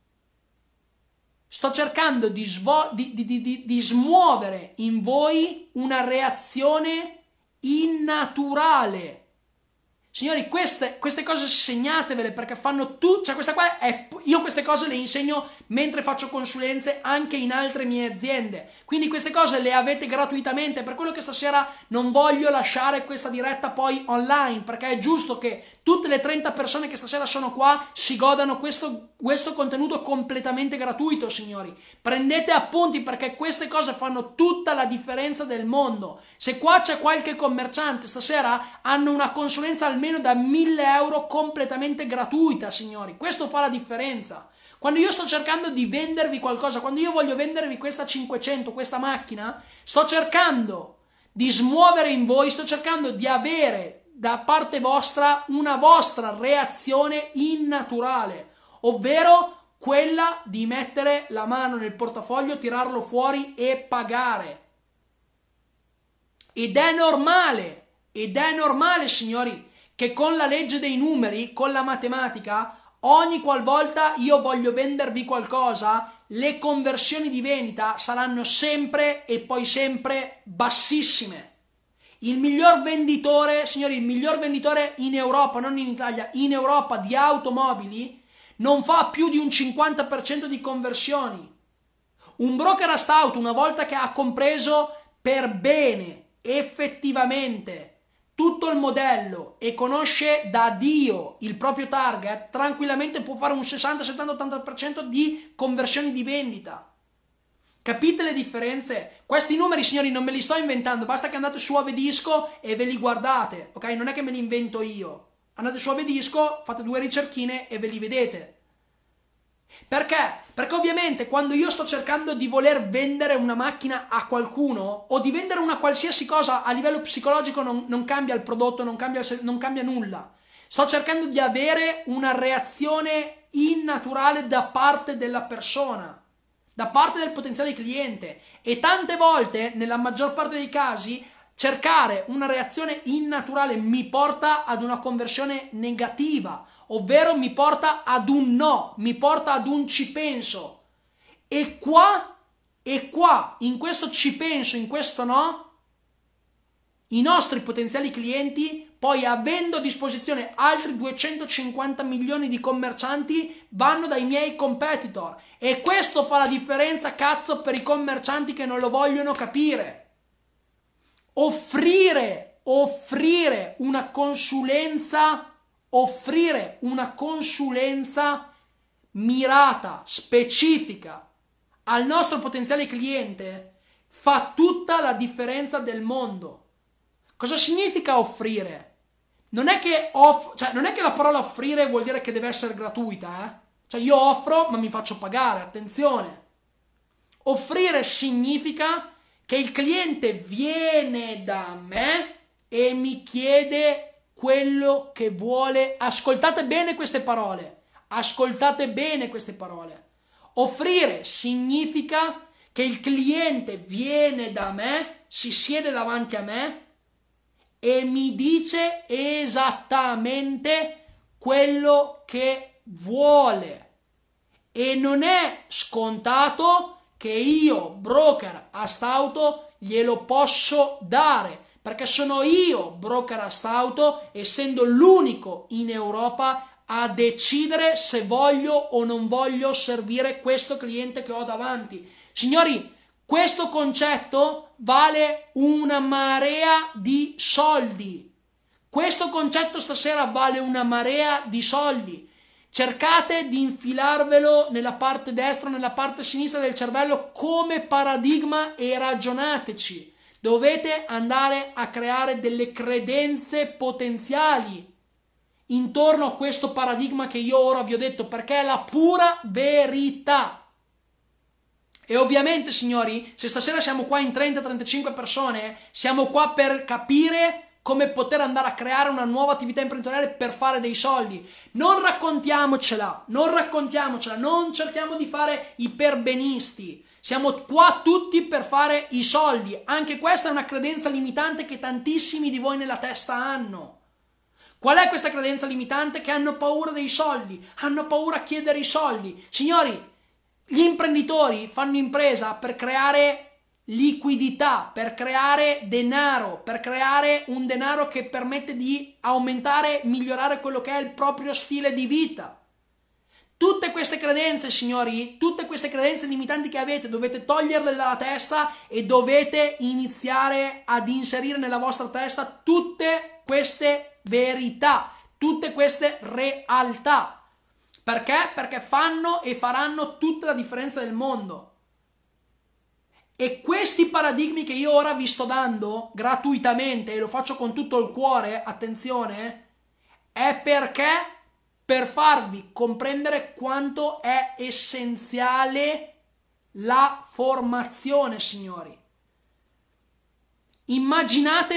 Sto cercando di smuovere in voi una reazione innaturale. Signori, queste cose segnatevele perché fanno tutto, cioè io queste cose le insegno mentre faccio consulenze anche in altre mie aziende, quindi queste cose le avete gratuitamente, per quello che stasera non voglio lasciare questa diretta poi online, perché è giusto che tutte le 30 persone che stasera sono qua si godano questo contenuto completamente gratuito, signori. Prendete appunti perché queste cose fanno tutta la differenza del mondo. Se qua c'è qualche commerciante stasera, hanno una consulenza almeno da 1.000 euro completamente gratuita, signori. Questo fa la differenza. Quando io sto cercando di vendervi qualcosa, quando io voglio vendervi questa 500, questa macchina, sto cercando di smuovere in voi, sto cercando di avere da parte vostra una vostra reazione innaturale, ovvero quella di mettere la mano nel portafoglio, tirarlo fuori e pagare. Ed è normale, signori, che con la legge dei numeri, con la matematica, ogni qualvolta io voglio vendervi qualcosa, le conversioni di vendita saranno sempre e poi sempre bassissime. Il miglior venditore, signori, il miglior venditore in Europa, non in Italia, in Europa di automobili, non fa più di un 50% di conversioni. Un broker a auto, una volta che ha compreso per bene, effettivamente, tutto il modello e conosce da Dio il proprio target, tranquillamente può fare un 60, 70, 80% di conversioni di vendita. Capite le differenze? Questi numeri, signori, non me li sto inventando, basta che andate su Avedisco e ve li guardate, ok? Non è che me li invento io. Andate su Avedisco, fate 2 ricerchine e ve li vedete. Perché? Perché ovviamente quando io sto cercando di voler vendere una macchina a qualcuno o di vendere una qualsiasi cosa a livello psicologico non cambia il prodotto, non cambia nulla. Sto cercando di avere una reazione innaturale da parte della persona, da parte del potenziale cliente, e tante volte, nella maggior parte dei casi, cercare una reazione innaturale mi porta ad una conversione negativa, ovvero mi porta ad un no, mi porta ad un ci penso. E qua, in questo ci penso, in questo no, i nostri potenziali clienti, poi avendo a disposizione altri 250 milioni di commercianti, vanno dai miei competitor. E questo fa la differenza, cazzo, per i commercianti che non lo vogliono capire. Offrire una consulenza mirata, specifica al nostro potenziale cliente fa tutta la differenza del mondo. Cosa significa offrire? Non è che la parola offrire vuol dire che deve essere gratuita, Cioè io offro ma mi faccio pagare, attenzione. Offrire significa che il cliente viene da me e mi chiede quello che vuole. Ascoltate bene queste parole. Offrire significa che il cliente viene da me, si siede davanti a me e mi dice esattamente quello che vuole. E non è scontato che io, broker Astauto, glielo posso dare, perché sono io, broker Astauto, essendo l'unico in Europa a decidere se voglio o non voglio servire questo cliente che ho davanti. Signori, questo concetto vale una marea di soldi. Questo concetto stasera vale una marea di soldi. Cercate di infilarvelo nella parte destra o nella parte sinistra del cervello come paradigma e ragionateci. Dovete andare a creare delle credenze potenziali intorno a questo paradigma che io ora vi ho detto, perché è la pura verità. E ovviamente, signori, se stasera siamo qua in 30-35 persone, siamo qua per capire come poter andare a creare una nuova attività imprenditoriale per fare dei soldi. Non raccontiamocela, non cerchiamo di fare i perbenisti. Siamo qua tutti per fare i soldi. Anche questa è una credenza limitante che tantissimi di voi nella testa hanno. Qual è questa credenza limitante? Che hanno paura dei soldi, hanno paura a chiedere i soldi. Signori, gli imprenditori fanno impresa per creare liquidità, per creare denaro, per creare un denaro che permette di aumentare, migliorare quello che è il proprio stile di vita. Tutte queste credenze, signori, tutte queste credenze limitanti che avete, dovete toglierle dalla testa e dovete iniziare ad inserire nella vostra testa tutte queste verità, tutte queste realtà. Perché? Perché fanno e faranno tutta la differenza del mondo. E questi paradigmi che io ora vi sto dando gratuitamente, e lo faccio con tutto il cuore, attenzione, è perché per farvi comprendere quanto è essenziale la formazione, signori.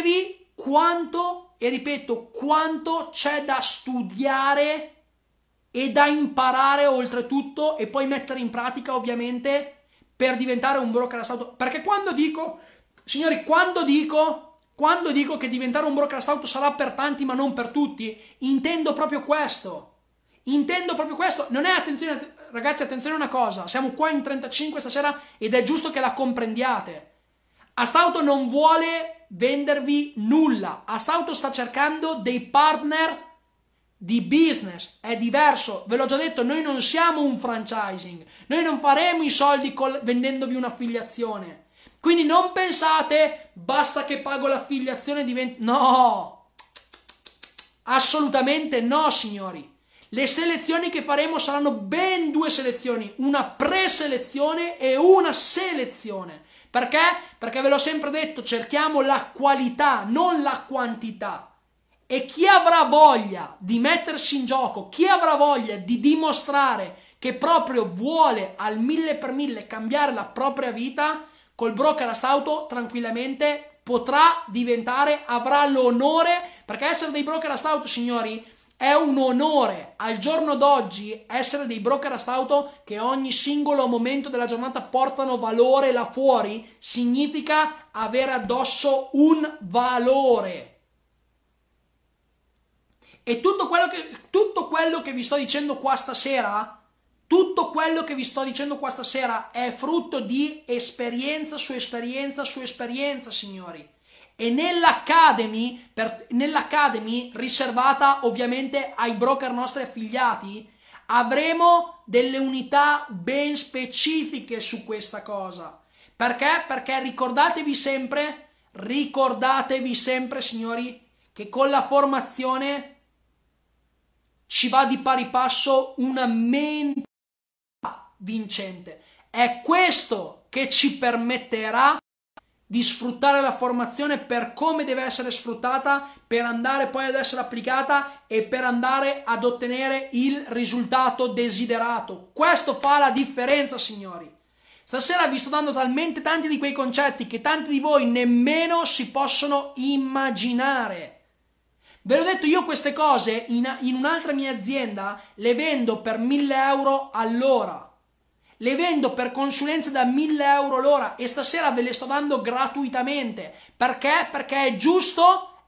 Immaginatevi quanto, e ripeto, quanto c'è da studiare e da imparare oltretutto e poi mettere in pratica ovviamente per diventare un broker astauto. Perché quando dico, signori, quando dico che diventare un broker astauto sarà per tanti ma non per tutti, intendo proprio questo. Non è, attenzione ragazzi, attenzione a una cosa, siamo qua in 35 stasera ed è giusto che la comprendiate. Astauto non vuole vendervi nulla, Astauto sta cercando dei partner di business, è diverso, ve l'ho già detto, noi non siamo un franchising, noi non faremo i soldi vendendovi un'affiliazione, quindi non pensate basta che pago l'affiliazione e diventa... No, assolutamente no signori. Le selezioni che faremo saranno ben due selezioni, una preselezione e una selezione. Perché? Perché ve l'ho sempre detto, cerchiamo la qualità, non la quantità. E chi avrà voglia di mettersi in gioco, chi avrà voglia di dimostrare che proprio vuole al 1000% cambiare la propria vita, col broker astauto tranquillamente potrà diventare, avrà l'onore, perché essere dei broker astauto, signori, è un onore al giorno d'oggi essere dei broker astauto che ogni singolo momento della giornata portano valore là fuori, significa avere addosso un valore. E tutto quello che vi sto dicendo qua stasera, è frutto di esperienza su esperienza su esperienza, signori. E nell'Academy riservata ovviamente ai broker nostri affiliati, avremo delle unità ben specifiche su questa cosa. Perché? Perché ricordatevi sempre, signori, che con la formazione ci va di pari passo una mentalità vincente. È questo che ci permetterà di sfruttare la formazione per come deve essere sfruttata, per andare poi ad essere applicata e per andare ad ottenere il risultato desiderato. Questo fa la differenza, signori. Stasera vi sto dando talmente tanti di quei concetti che tanti di voi nemmeno si possono immaginare. Ve l'ho detto, io queste cose in un'altra mia azienda le vendo per 1.000 euro all'ora. Le vendo per consulenze da 1.000 euro l'ora e stasera ve le sto dando gratuitamente. Perché? Perché è giusto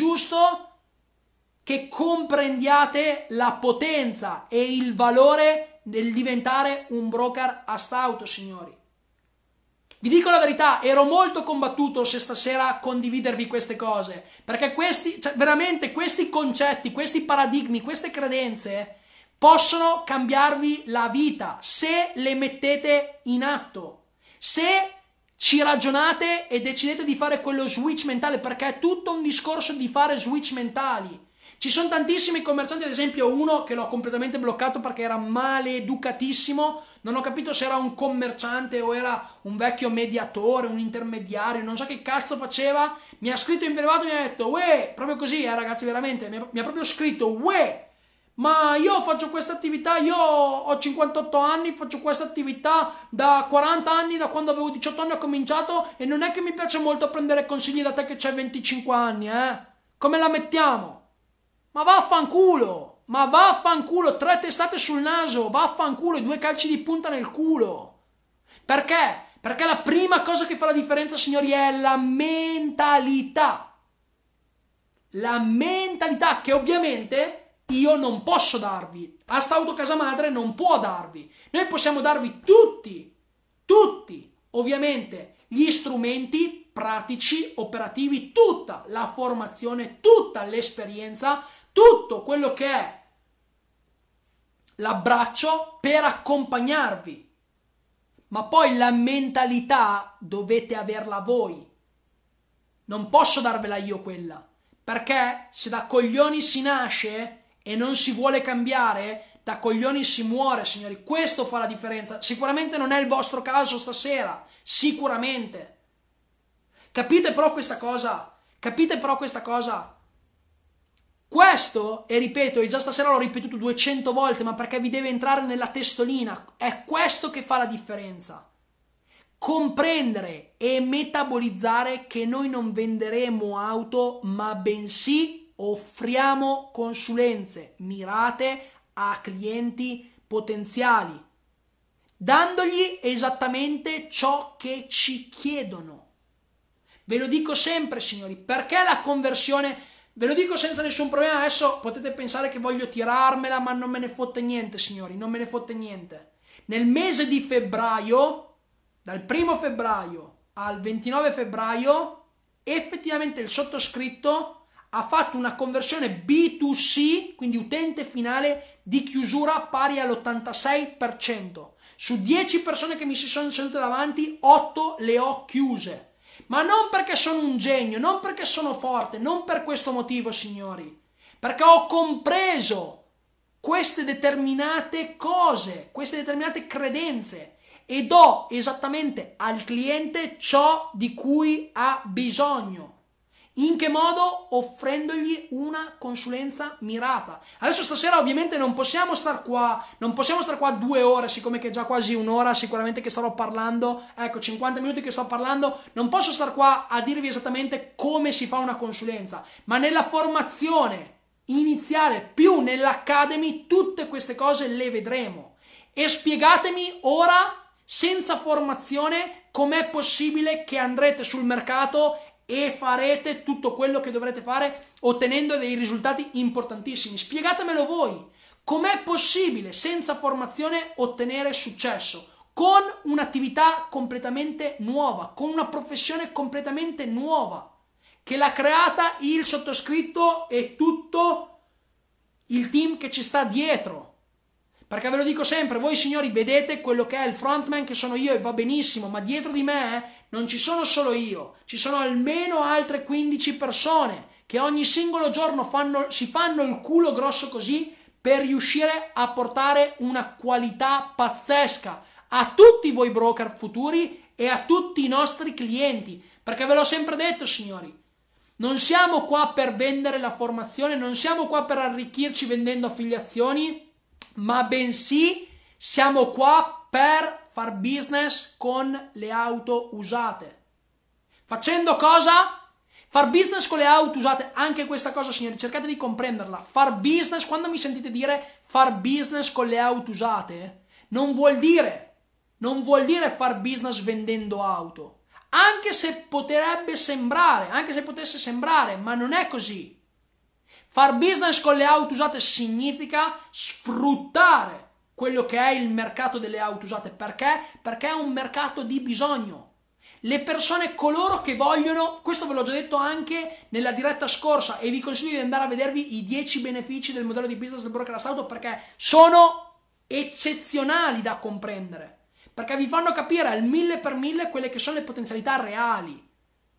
che comprendiate la potenza e il valore del diventare un broker astauto, signori. Vi dico la verità, ero molto combattuto se stasera condividervi queste cose, perché veramente questi concetti, questi paradigmi, queste credenze possono cambiarvi la vita se le mettete in atto, se ci ragionate e decidete di fare quello switch mentale, perché è tutto un discorso di fare switch mentali. Ci sono tantissimi commercianti, ad esempio uno che l'ho completamente bloccato perché era maleducatissimo, non ho capito se era un commerciante o era un vecchio mediatore, un intermediario, non so che cazzo faceva, mi ha scritto in privato e mi ha detto uè, proprio così ragazzi, veramente, mi ha proprio scritto uè, ma io faccio questa attività, io ho 58 anni, faccio questa attività da 40 anni, da quando avevo 18 anni ho cominciato e non è che mi piace molto prendere consigli da te che c'hai 25 anni, come la mettiamo? Ma vaffanculo, 3 testate sul naso, vaffanculo, e 2 calci di punta nel culo. Perché? Perché la prima cosa che fa la differenza, signori, è la mentalità. La mentalità che ovviamente io non posso darvi. Astauto Casa Madre non può darvi. Noi possiamo darvi tutti, ovviamente, gli strumenti pratici, operativi, tutta la formazione, tutta l'esperienza, tutto quello che è l'abbraccio per accompagnarvi, ma poi la mentalità dovete averla voi. Non posso darvela io quella, perché se da coglioni si nasce e non si vuole cambiare, da coglioni si muore, signori. Questo fa la differenza. Sicuramente non è il vostro caso stasera, sicuramente. Capite però questa cosa? Questo, e ripeto, e già stasera l'ho ripetuto 200 volte, ma perché vi deve entrare nella testolina, è questo che fa la differenza. Comprendere e metabolizzare che noi non venderemo auto, ma bensì offriamo consulenze mirate a clienti potenziali, dandogli esattamente ciò che ci chiedono. Ve lo dico sempre, signori, perché la conversione, ve lo dico senza nessun problema. Adesso potete pensare che voglio tirarmela, ma non me ne fotte niente, signori, non me ne fotte niente. Nel mese di febbraio, dal 1 febbraio al 29 febbraio, effettivamente il sottoscritto ha fatto una conversione B2C, quindi utente finale, di chiusura pari all'86%. Su 10 persone che mi si sono sedute davanti, 8 le ho chiuse. Ma non perché sono un genio, non perché sono forte, non per questo motivo, signori. Perché ho compreso queste determinate cose, queste determinate credenze e do esattamente al cliente ciò di cui ha bisogno. In che modo? Offrendogli una consulenza mirata. Adesso stasera ovviamente non possiamo star qua 2 ore, siccome che è già quasi un'ora sicuramente che starò parlando, ecco 50 minuti che sto parlando, non posso star qua a dirvi esattamente come si fa una consulenza, ma nella formazione iniziale più nell'Academy tutte queste cose le vedremo. E spiegatemi ora, senza formazione, com'è possibile che andrete sul mercato e farete tutto quello che dovrete fare ottenendo dei risultati importantissimi. Spiegatemelo voi, com'è possibile senza formazione ottenere successo con un'attività completamente nuova, con una professione completamente nuova che l'ha creata il sottoscritto e tutto il team che ci sta dietro. Perché ve lo dico sempre, voi signori vedete quello che è il frontman che sono io e va benissimo, ma dietro di me non ci sono solo io, ci sono almeno altre 15 persone che ogni singolo giorno si fanno il culo grosso così per riuscire a portare una qualità pazzesca a tutti voi broker futuri e a tutti i nostri clienti. Perché ve l'ho sempre detto, signori, non siamo qua per vendere la formazione, non siamo qua per arricchirci vendendo affiliazioni, ma bensì siamo qua per far business con le auto usate. Facendo cosa? Far business con le auto usate. Anche questa cosa, signori, cercate di comprenderla. Far business, quando mi sentite dire far business con le auto usate, non vuol dire far business vendendo auto. Anche se potesse sembrare, ma non è così. Far business con le auto usate significa sfruttare quello che è il mercato delle auto usate. Perché? Perché è un mercato di bisogno. Le persone, coloro che vogliono, questo ve l'ho già detto anche nella diretta scorsa e vi consiglio di andare a vedervi i 10 benefici del modello di business del broker auto, perché sono eccezionali da comprendere. Perché vi fanno capire al 1000 per 1000 quelle che sono le potenzialità reali.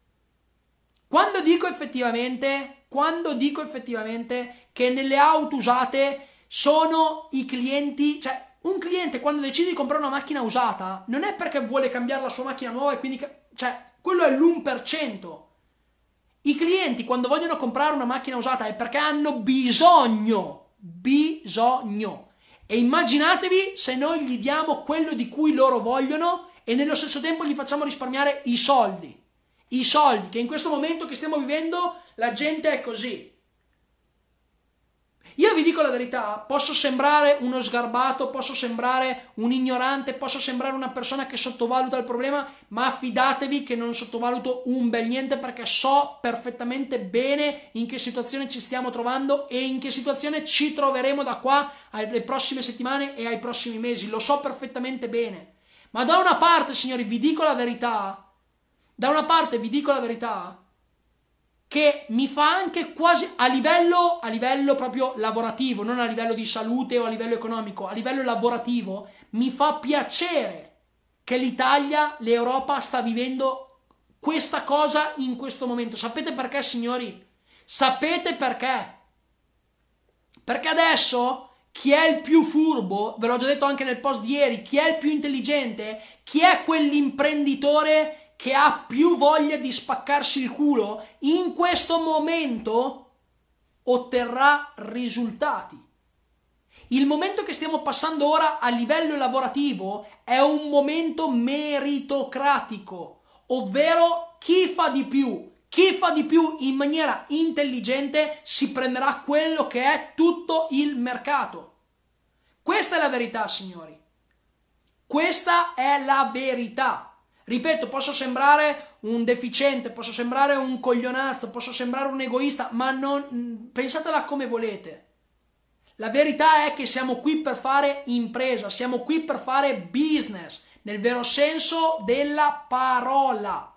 Quando dico effettivamente che nelle auto usate sono i clienti, cioè un cliente quando decide di comprare una macchina usata non è perché vuole cambiare la sua macchina nuova e quindi, cioè, quello è l'1%. I clienti quando vogliono comprare una macchina usata è perché hanno bisogno. E immaginatevi se noi gli diamo quello di cui loro vogliono e nello stesso tempo gli facciamo risparmiare i soldi che in questo momento che stiamo vivendo la gente è così. Io vi dico la verità, posso sembrare uno sgarbato, posso sembrare un ignorante, posso sembrare una persona che sottovaluta il problema, ma fidatevi che non sottovaluto un bel niente, perché so perfettamente bene in che situazione ci stiamo trovando e in che situazione ci troveremo da qua alle prossime settimane e ai prossimi mesi. Lo so perfettamente bene. Ma da una parte, signori, vi dico la verità, che mi fa anche quasi a livello proprio lavorativo, non a livello di salute o a livello economico, a livello lavorativo, mi fa piacere che l'Italia, l'Europa sta vivendo questa cosa in questo momento. Sapete perché, signori? Sapete perché? Perché adesso chi è il più furbo, ve l'ho già detto anche nel post di ieri, chi è il più intelligente, chi è quell'imprenditore che ha più voglia di spaccarsi il culo, in questo momento otterrà risultati. Il momento che stiamo passando ora a livello lavorativo è un momento meritocratico, ovvero chi fa di più in maniera intelligente si prenderà quello che è tutto il mercato. Questa è la verità, signori. Questa è la verità. Ripeto, posso sembrare un deficiente, posso sembrare un coglionazzo, posso sembrare un egoista, ma non pensatela come volete. La verità è che siamo qui per fare impresa, siamo qui per fare business, nel vero senso della parola.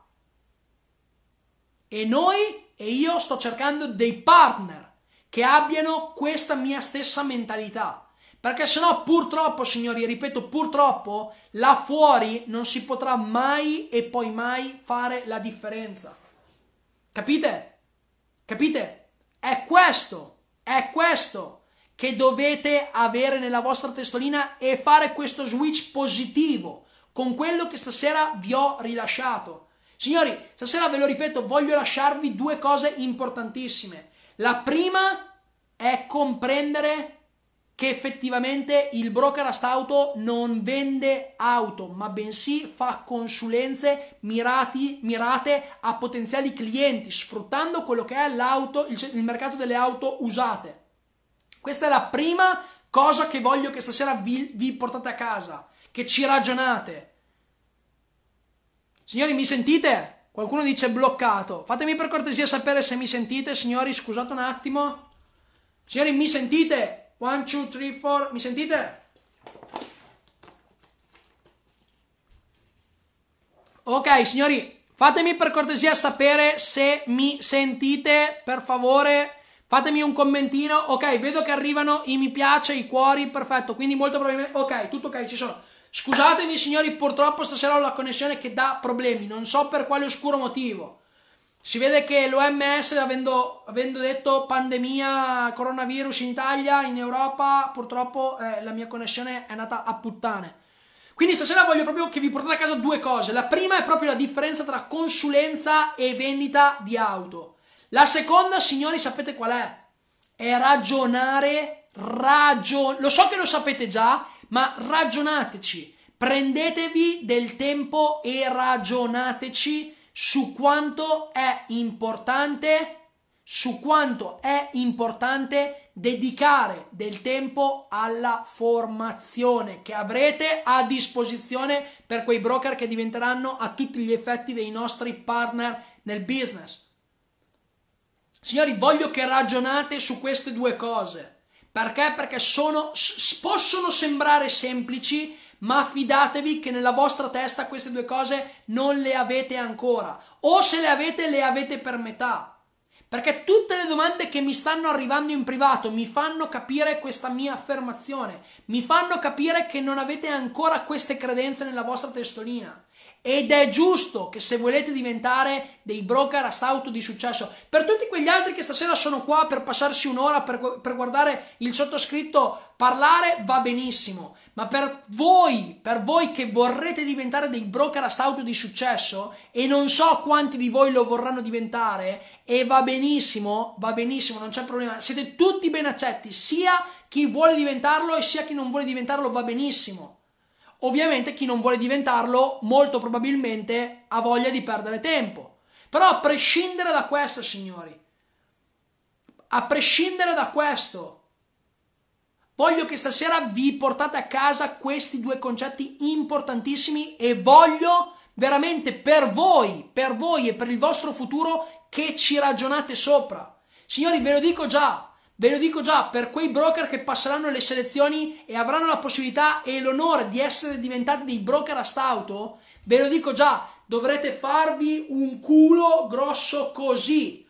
E io sto cercando dei partner che abbiano questa mia stessa mentalità. Perché sennò purtroppo, signori, ripeto, purtroppo, là fuori non si potrà mai e poi mai fare la differenza. Capite? Capite? È questo che dovete avere nella vostra testolina e fare questo switch positivo con quello che stasera vi ho rilasciato. Signori, stasera ve lo ripeto, voglio lasciarvi due cose importantissime. La prima è comprendere che effettivamente il broker Astauto non vende auto, ma bensì fa consulenze mirate a potenziali clienti, sfruttando quello che è l'auto, il mercato delle auto usate. Questa è la prima cosa che voglio che stasera vi portate a casa, che ci ragionate. Signori, mi sentite? Qualcuno dice bloccato. Fatemi per cortesia sapere se mi sentite, signori, scusate un attimo. Signori, mi sentite? 1, 2, 3, 4, mi sentite? Ok, signori, fatemi per cortesia sapere se mi sentite, per favore. Fatemi un commentino. Ok, vedo che arrivano i mi piace, i cuori, perfetto. Quindi molto probabilmente... Ok, tutto ok, ci sono. Scusatemi, signori, purtroppo stasera ho la connessione che dà problemi. Non so per quale oscuro motivo. Si vede che l'OMS, avendo detto pandemia, coronavirus in Italia, in Europa, purtroppo la mia connessione è andata a puttane. Quindi stasera voglio proprio che vi portate a casa due cose. La prima è proprio la differenza tra consulenza e vendita di auto. La seconda, signori, sapete qual è? È ragionare, lo so che lo sapete già, ma ragionateci. Prendetevi del tempo e ragionateci su quanto è importante dedicare del tempo alla formazione che avrete a disposizione per quei broker che diventeranno a tutti gli effetti dei nostri partner nel business. Signori, voglio che ragionate su queste due cose. Perché? Perché possono sembrare semplici, ma fidatevi che nella vostra testa queste due cose non le avete ancora, o se le avete per metà, perché tutte le domande che mi stanno arrivando in privato mi fanno capire questa mia affermazione, mi fanno capire che non avete ancora queste credenze nella vostra testolina. Ed è giusto che se volete diventare dei broker Astauto di successo, per tutti quegli altri che stasera sono qua per passarsi un'ora per guardare il sottoscritto parlare, va benissimo, ma per voi che vorrete diventare dei broker Astauto di successo, e non so quanti di voi lo vorranno diventare, e va benissimo, non c'è problema, siete tutti ben accetti, sia chi vuole diventarlo e sia chi non vuole diventarlo, va benissimo. Ovviamente chi non vuole diventarlo molto probabilmente ha voglia di perdere tempo. Però a prescindere da questo, signori, a prescindere da questo, voglio che stasera vi portate a casa questi due concetti importantissimi e voglio veramente per voi e per il vostro futuro che ci ragionate sopra. Signori, ve lo dico già, per quei broker che passeranno le selezioni e avranno la possibilità e l'onore di essere diventati dei broker Astauto, ve lo dico già, dovrete farvi un culo grosso così,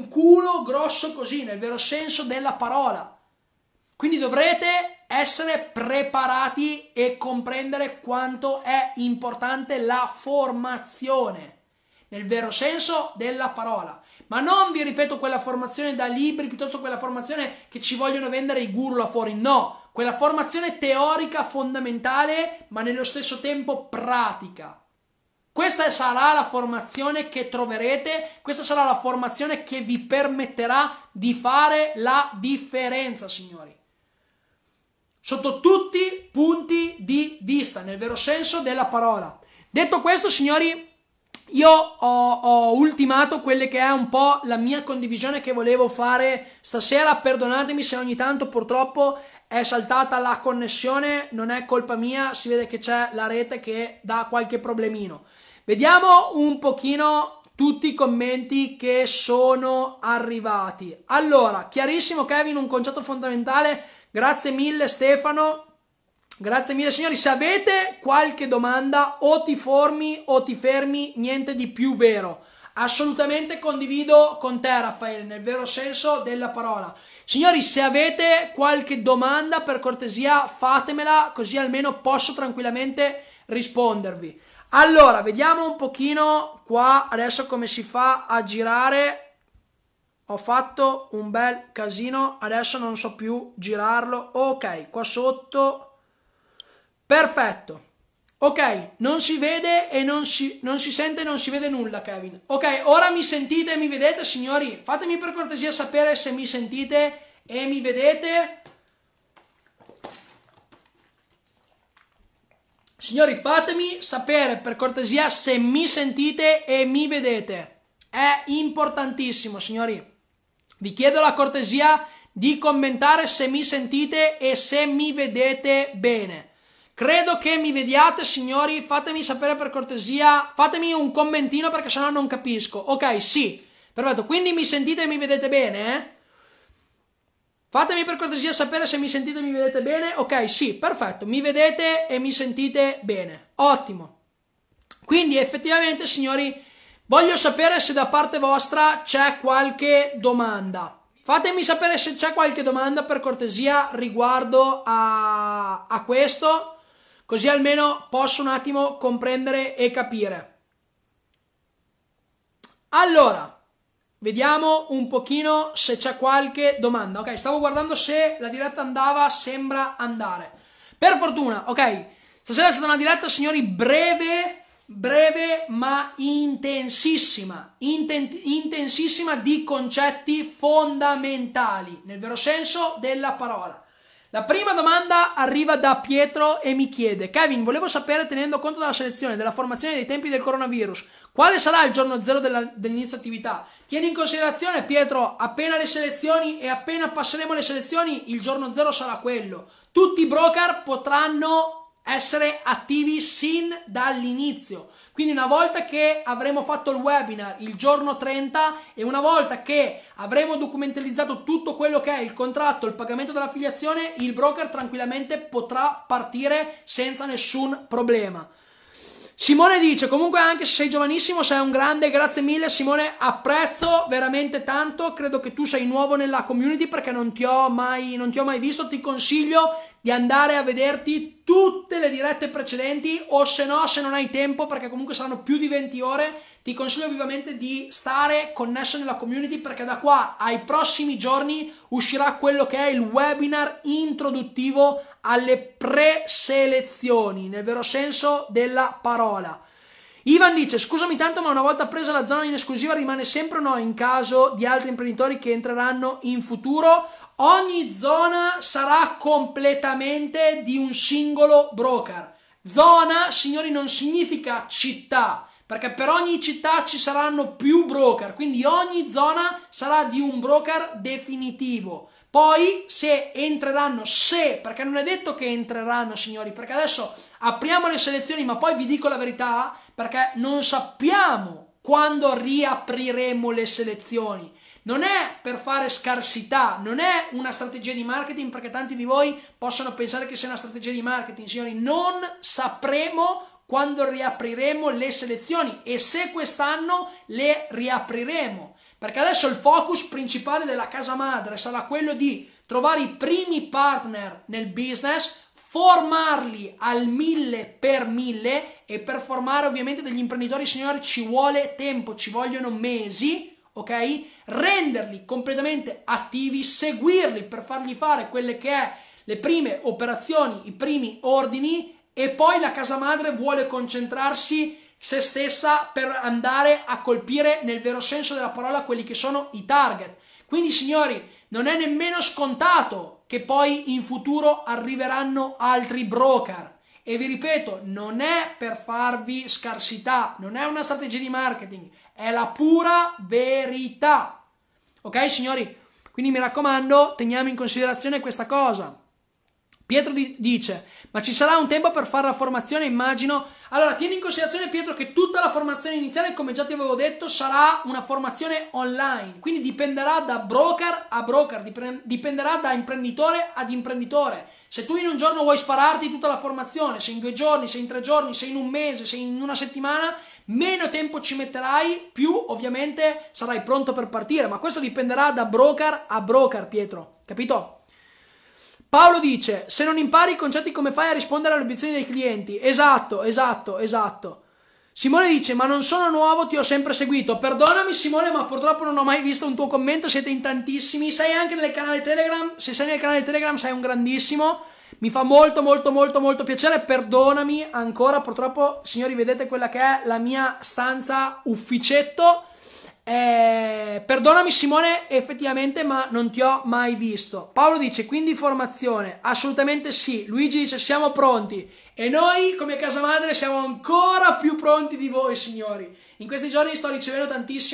nel vero senso della parola. Quindi dovrete essere preparati e comprendere quanto è importante la formazione, nel vero senso della parola. Ma non vi ripeto quella formazione da libri, piuttosto quella formazione che ci vogliono vendere i guru là fuori, no, quella formazione teorica fondamentale ma nello stesso tempo pratica. Questa sarà la formazione che troverete, questa sarà la formazione che vi permetterà di fare la differenza, signori. Sotto tutti i punti di vista, nel vero senso della parola. Detto questo, signori, io ho ultimato quelle che è un po' la mia condivisione che volevo fare stasera. Perdonatemi se ogni tanto purtroppo è saltata la connessione, non è colpa mia, si vede che c'è la rete che dà qualche problemino. Vediamo un pochino tutti i commenti che sono arrivati. Allora, chiarissimo Kevin, un concetto fondamentale, grazie mille Stefano. Grazie mille signori, se avete qualche domanda o ti fermi, niente di più vero. Assolutamente condivido con te Raffaele, nel vero senso della parola. Signori, se avete qualche domanda per cortesia fatemela, così almeno posso tranquillamente rispondervi. Allora, vediamo un pochino qua adesso come si fa a girare. Ho fatto un bel casino, adesso non so più girarlo. Ok, qua sotto. Perfetto. Ok, non si vede e non si sente e non si vede nulla, Kevin. Ok, ora mi sentite e mi vedete, signori? Fatemi per cortesia sapere se mi sentite e mi vedete. Signori, fatemi sapere per cortesia se mi sentite e mi vedete. È importantissimo, signori. Vi chiedo la cortesia di commentare se mi sentite e se mi vedete bene. Credo che mi vediate, signori, fatemi sapere per cortesia, fatemi un commentino perché sennò non capisco. Ok, sì, perfetto, quindi mi sentite e mi vedete bene, eh? Fatemi per cortesia sapere se mi sentite e mi vedete bene. Ok, sì, perfetto, mi vedete e mi sentite bene, ottimo. Quindi effettivamente, signori, voglio sapere se da parte vostra c'è qualche domanda. Fatemi sapere se c'è qualche domanda per cortesia riguardo a questo. Così almeno posso un attimo comprendere e capire. Allora, vediamo un pochino se c'è qualche domanda. Ok, stavo guardando se la diretta andava, sembra andare. Per fortuna, ok. Stasera è stata una diretta, signori, breve ma intensissima. Intensissima di concetti fondamentali, nel vero senso della parola. La prima domanda arriva da Pietro e mi chiede: Kevin, volevo sapere, tenendo conto della selezione, della formazione dei tempi del coronavirus, quale sarà il giorno zero dell'inizio attività? Tieni in considerazione, Pietro, appena le selezioni e appena passeremo le selezioni, il giorno zero sarà quello. Tutti i broker potranno essere attivi sin dall'inizio. Quindi una volta che avremo fatto il webinar il giorno 30 e una volta che avremo documentalizzato tutto quello che è il contratto, il pagamento dell'affiliazione, il broker tranquillamente potrà partire senza nessun problema. Simone dice: comunque anche se sei giovanissimo sei un grande, grazie mille Simone, apprezzo veramente tanto, credo che tu sei nuovo nella community perché non ti ho mai visto, ti consiglio di andare a vederti tutte le dirette precedenti o se no, se non hai tempo, perché comunque saranno più di 20 ore, ti consiglio vivamente di stare connesso nella community perché da qua ai prossimi giorni uscirà quello che è il webinar introduttivo alle preselezioni, nel vero senso della parola. Ivan dice: scusami tanto, ma una volta presa la zona in esclusiva rimane sempre o no in caso di altri imprenditori che entreranno in futuro? Ogni zona sarà completamente di un singolo broker. Zona, signori, non significa città, perché per ogni città ci saranno più broker, quindi ogni zona sarà di un broker definitivo. Poi se entreranno, perché non è detto che entreranno, signori, perché adesso apriamo le selezioni, ma poi vi dico la verità, perché non sappiamo quando riapriremo le selezioni. Non è per fare scarsità, non è una strategia di marketing, perché tanti di voi possono pensare che sia una strategia di marketing, signori. Non sapremo quando riapriremo le selezioni e se quest'anno le riapriremo, perché adesso il focus principale della casa madre sarà quello di trovare i primi partner nel business, formarli al 1000x1000, e per formare ovviamente degli imprenditori, signori, ci vuole tempo, ci vogliono mesi, ok? Renderli completamente attivi, seguirli per fargli fare quelle che è le prime operazioni, i primi ordini, e poi la casa madre vuole concentrarsi se stessa per andare a colpire nel vero senso della parola quelli che sono i target. Quindi, signori, non è nemmeno scontato che poi in futuro arriveranno altri broker. E vi ripeto, non è per farvi scarsità, non è una strategia di marketing, è la pura verità. Ok, signori? Quindi mi raccomando, teniamo in considerazione questa cosa. Pietro dice, ma ci sarà un tempo per fare la formazione, immagino. Allora, tieni in considerazione, Pietro, che tutta la formazione iniziale, come già ti avevo detto, sarà una formazione online, quindi dipenderà da broker a broker, dipenderà da imprenditore ad imprenditore. Se tu in un giorno vuoi spararti tutta la formazione, se in 2 giorni, se in 3 giorni, se in un mese, se in una settimana, meno tempo ci metterai, più ovviamente sarai pronto per partire, ma questo dipenderà da broker a broker, Pietro, capito? Paolo dice, se non impari i concetti come fai a rispondere alle obiezioni dei clienti? Esatto. Simone dice, ma non sono nuovo, ti ho sempre seguito. Perdonami Simone, ma purtroppo non ho mai visto un tuo commento, siete in tantissimi. Sei anche nel canale Telegram? Se sei nel canale Telegram sei un grandissimo. Mi fa molto piacere, perdonami ancora, purtroppo signori vedete quella che è la mia stanza ufficetto. Perdonami Simone, effettivamente, ma non ti ho mai visto. Paolo dice, quindi formazione? Assolutamente sì. Luigi dice, siamo pronti. E noi come casa madre siamo ancora più pronti di voi, signori. In questi giorni sto ricevendo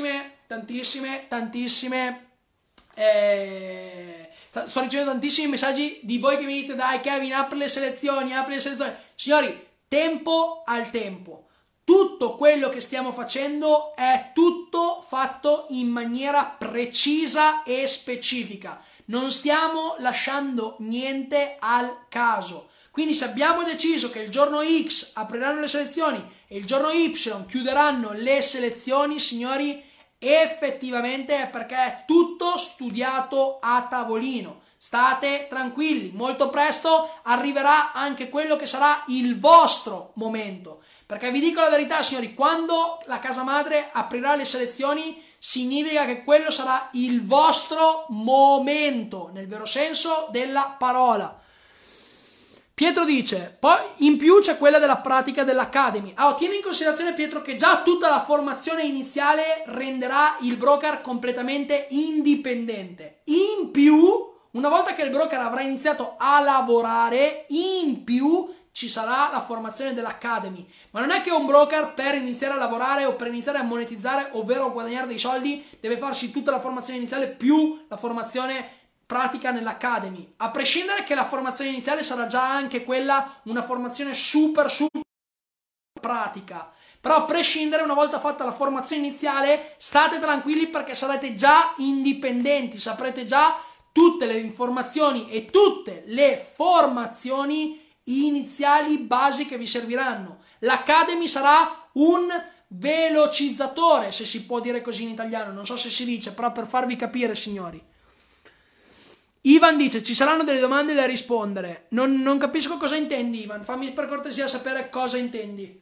sto ricevendo tantissimi messaggi di voi che mi dite, dai Kevin, apri le selezioni. Signori, tempo al tempo. Tutto quello che stiamo facendo è tutto fatto in maniera precisa e specifica. Non stiamo lasciando niente al caso. Quindi se abbiamo deciso che il giorno X apriranno le selezioni e il giorno Y chiuderanno le selezioni, signori, effettivamente è perché è tutto studiato a tavolino. State tranquilli, molto presto arriverà anche quello che sarà il vostro momento. Perché vi dico la verità, signori, quando la casa madre aprirà le selezioni significa che quello sarà il vostro momento, nel vero senso della parola. Pietro dice, poi in più c'è quella della pratica dell'Academy. Allora, tieni in considerazione, Pietro, che già tutta la formazione iniziale renderà il broker completamente indipendente. In più, una volta che il broker avrà iniziato a lavorare, in più ci sarà la formazione dell'Academy. Ma non è che un broker per iniziare a lavorare o per iniziare a monetizzare, ovvero a guadagnare dei soldi, deve farsi tutta la formazione iniziale più la formazione pratica nell'Academy, a prescindere che la formazione iniziale sarà già anche quella una formazione super pratica. Però a prescindere, una volta fatta la formazione iniziale, state tranquilli perché sarete già indipendenti, saprete già tutte le informazioni e tutte le formazioni iniziali basi che vi serviranno. L'Academy sarà un velocizzatore, se si può dire così in italiano, non so se si dice, però per farvi capire, signori. Ivan dice, ci saranno delle domande da rispondere. Non capisco cosa intendi, Ivan, fammi per cortesia sapere cosa intendi.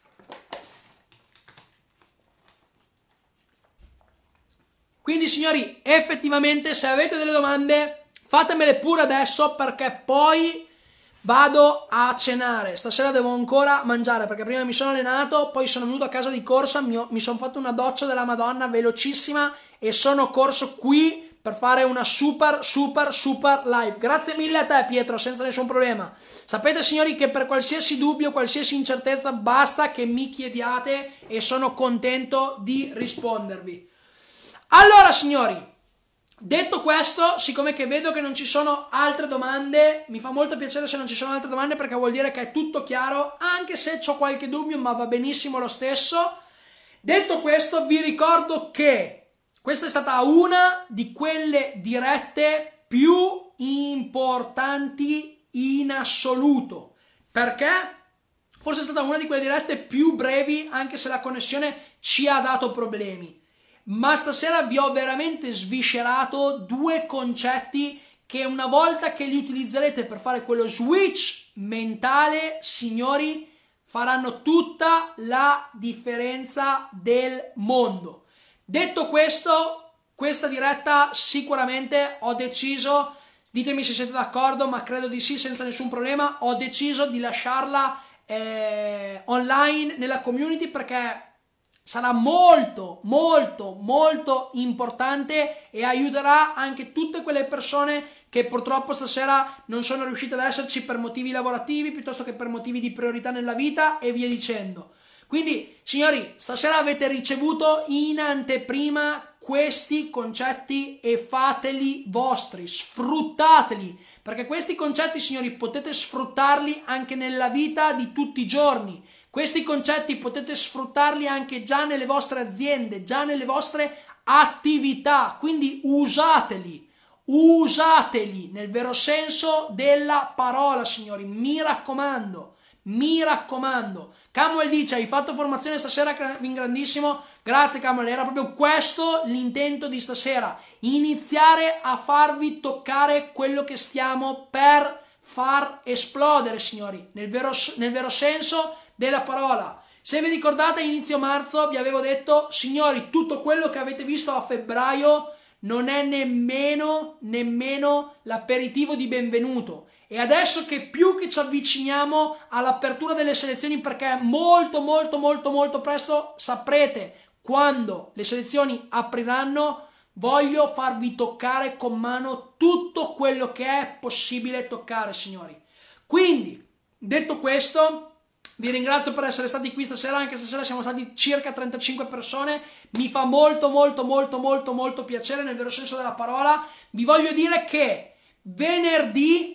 Quindi, signori, effettivamente se avete delle domande fatemele pure adesso, perché poi vado a cenare. Stasera devo ancora mangiare perché prima mi sono allenato, poi sono venuto a casa di corsa, mi sono fatto una doccia della Madonna velocissima e sono corso qui per fare una super live. Grazie mille a te, Pietro, senza nessun problema. Sapete, signori, che per qualsiasi dubbio, qualsiasi incertezza, basta che mi chiediate e sono contento di rispondervi. Allora, signori, detto questo, siccome che vedo che non ci sono altre domande, mi fa molto piacere se non ci sono altre domande, perché vuol dire che è tutto chiaro, anche se ho qualche dubbio, ma va benissimo lo stesso. Detto questo, vi ricordo che questa è stata una di quelle dirette più importanti in assoluto. Perché? Forse è stata una di quelle dirette più brevi, anche se la connessione ci ha dato problemi. Ma stasera vi ho veramente sviscerato 2 concetti che una volta che li utilizzerete per fare quello switch mentale, signori, faranno tutta la differenza del mondo. Detto questo, questa diretta sicuramente ho deciso, ditemi se siete d'accordo, ma credo di sì, senza nessun problema, ho deciso di lasciarla online nella community, perché sarà molto importante e aiuterà anche tutte quelle persone che purtroppo stasera non sono riuscite ad esserci per motivi lavorativi piuttosto che per motivi di priorità nella vita e via dicendo. Quindi, signori, stasera avete ricevuto in anteprima questi concetti e fateli vostri, sfruttateli, perché questi concetti, signori, potete sfruttarli anche nella vita di tutti i giorni. Questi concetti potete sfruttarli anche già nelle vostre aziende, già nelle vostre attività, quindi usateli nel vero senso della parola, signori, mi raccomando. Camuel dice: hai fatto formazione stasera in grandissimo. Grazie Camuel, era proprio questo l'intento di stasera, iniziare a farvi toccare quello che stiamo per far esplodere, signori, nel vero senso della parola. Se vi ricordate, a inizio marzo vi avevo detto: signori, tutto quello che avete visto a febbraio non è nemmeno l'aperitivo di benvenuto. E adesso che più che ci avviciniamo all'apertura delle selezioni, perché molto presto saprete quando le selezioni apriranno, voglio farvi toccare con mano tutto quello che è possibile toccare, signori. Quindi, detto questo, vi ringrazio per essere stati qui stasera. Anche stasera siamo stati circa 35 persone. Mi fa molto piacere, nel vero senso della parola. Vi voglio dire che venerdì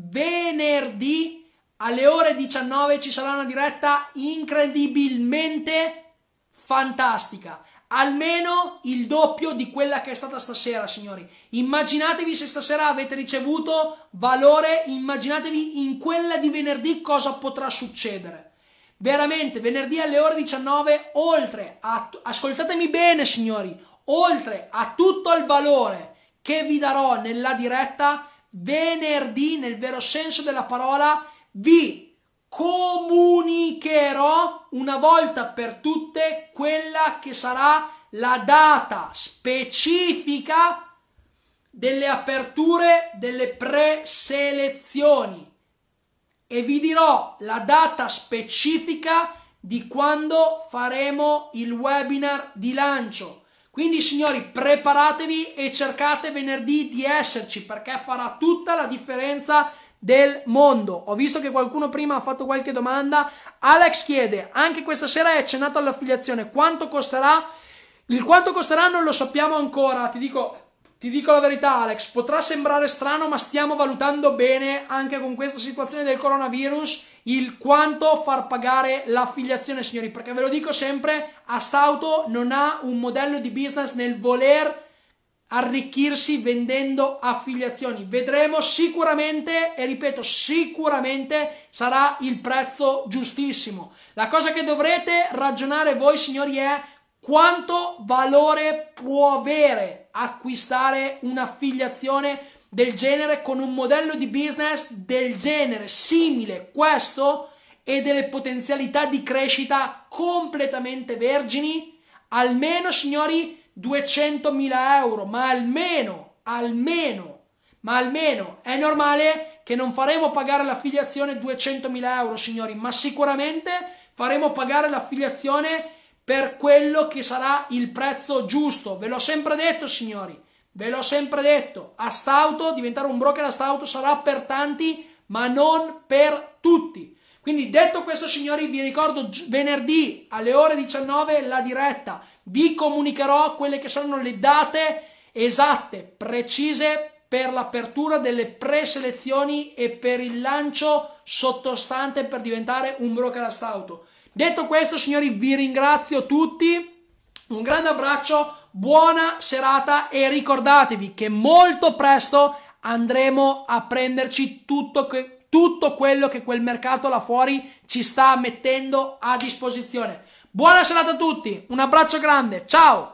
alle ore 19 ci sarà una diretta incredibilmente fantastica, almeno il doppio di quella che è stata stasera, signori. Immaginatevi se stasera avete ricevuto valore, immaginatevi in quella di venerdì cosa potrà succedere. Veramente, venerdì alle ore 19, oltre a, ascoltatemi bene signori, oltre a tutto il valore che vi darò nella diretta, venerdì, nel vero senso della parola, vi comunicherò una volta per tutte quella che sarà la data specifica delle aperture delle preselezioni e vi dirò la data specifica di quando faremo il webinar di lancio. Quindi signori, preparatevi e cercate venerdì di esserci, perché farà tutta la differenza del mondo. Ho visto che qualcuno prima ha fatto qualche domanda. Alex chiede: anche questa sera è accennato all'affiliazione, quanto costerà? Il quanto costerà non lo sappiamo ancora, ti dico la verità Alex, potrà sembrare strano, ma stiamo valutando bene anche con questa situazione del coronavirus il quanto far pagare l'affiliazione, signori, perché ve lo dico sempre, Astauto non ha un modello di business nel voler arricchirsi vendendo affiliazioni. Vedremo sicuramente, e ripeto sicuramente, sarà il prezzo giustissimo. La cosa che dovrete ragionare voi, signori, è quanto valore può avere acquistare un'affiliazione del genere con un modello di business del genere, simile questo, e delle potenzialità di crescita completamente vergini. Almeno, signori, 200.000 euro, ma almeno è normale che non faremo pagare l'affiliazione 200.000 euro, signori, ma sicuramente faremo pagare l'affiliazione per quello che sarà il prezzo giusto. Ve l'ho sempre detto, signori, ve l'ho sempre detto, Astauto, diventare un broker Astauto sarà per tanti ma non per tutti. Quindi detto questo, signori, vi ricordo venerdì alle ore 19 la diretta, vi comunicherò quelle che saranno le date esatte, precise per l'apertura delle preselezioni e per il lancio sottostante per diventare un broker Astauto. Detto questo, signori, vi ringrazio tutti, un grande abbraccio, buona serata e ricordatevi che molto presto andremo a prenderci tutto quello che quel mercato là fuori ci sta mettendo a disposizione. Buona serata a tutti, un abbraccio grande, ciao!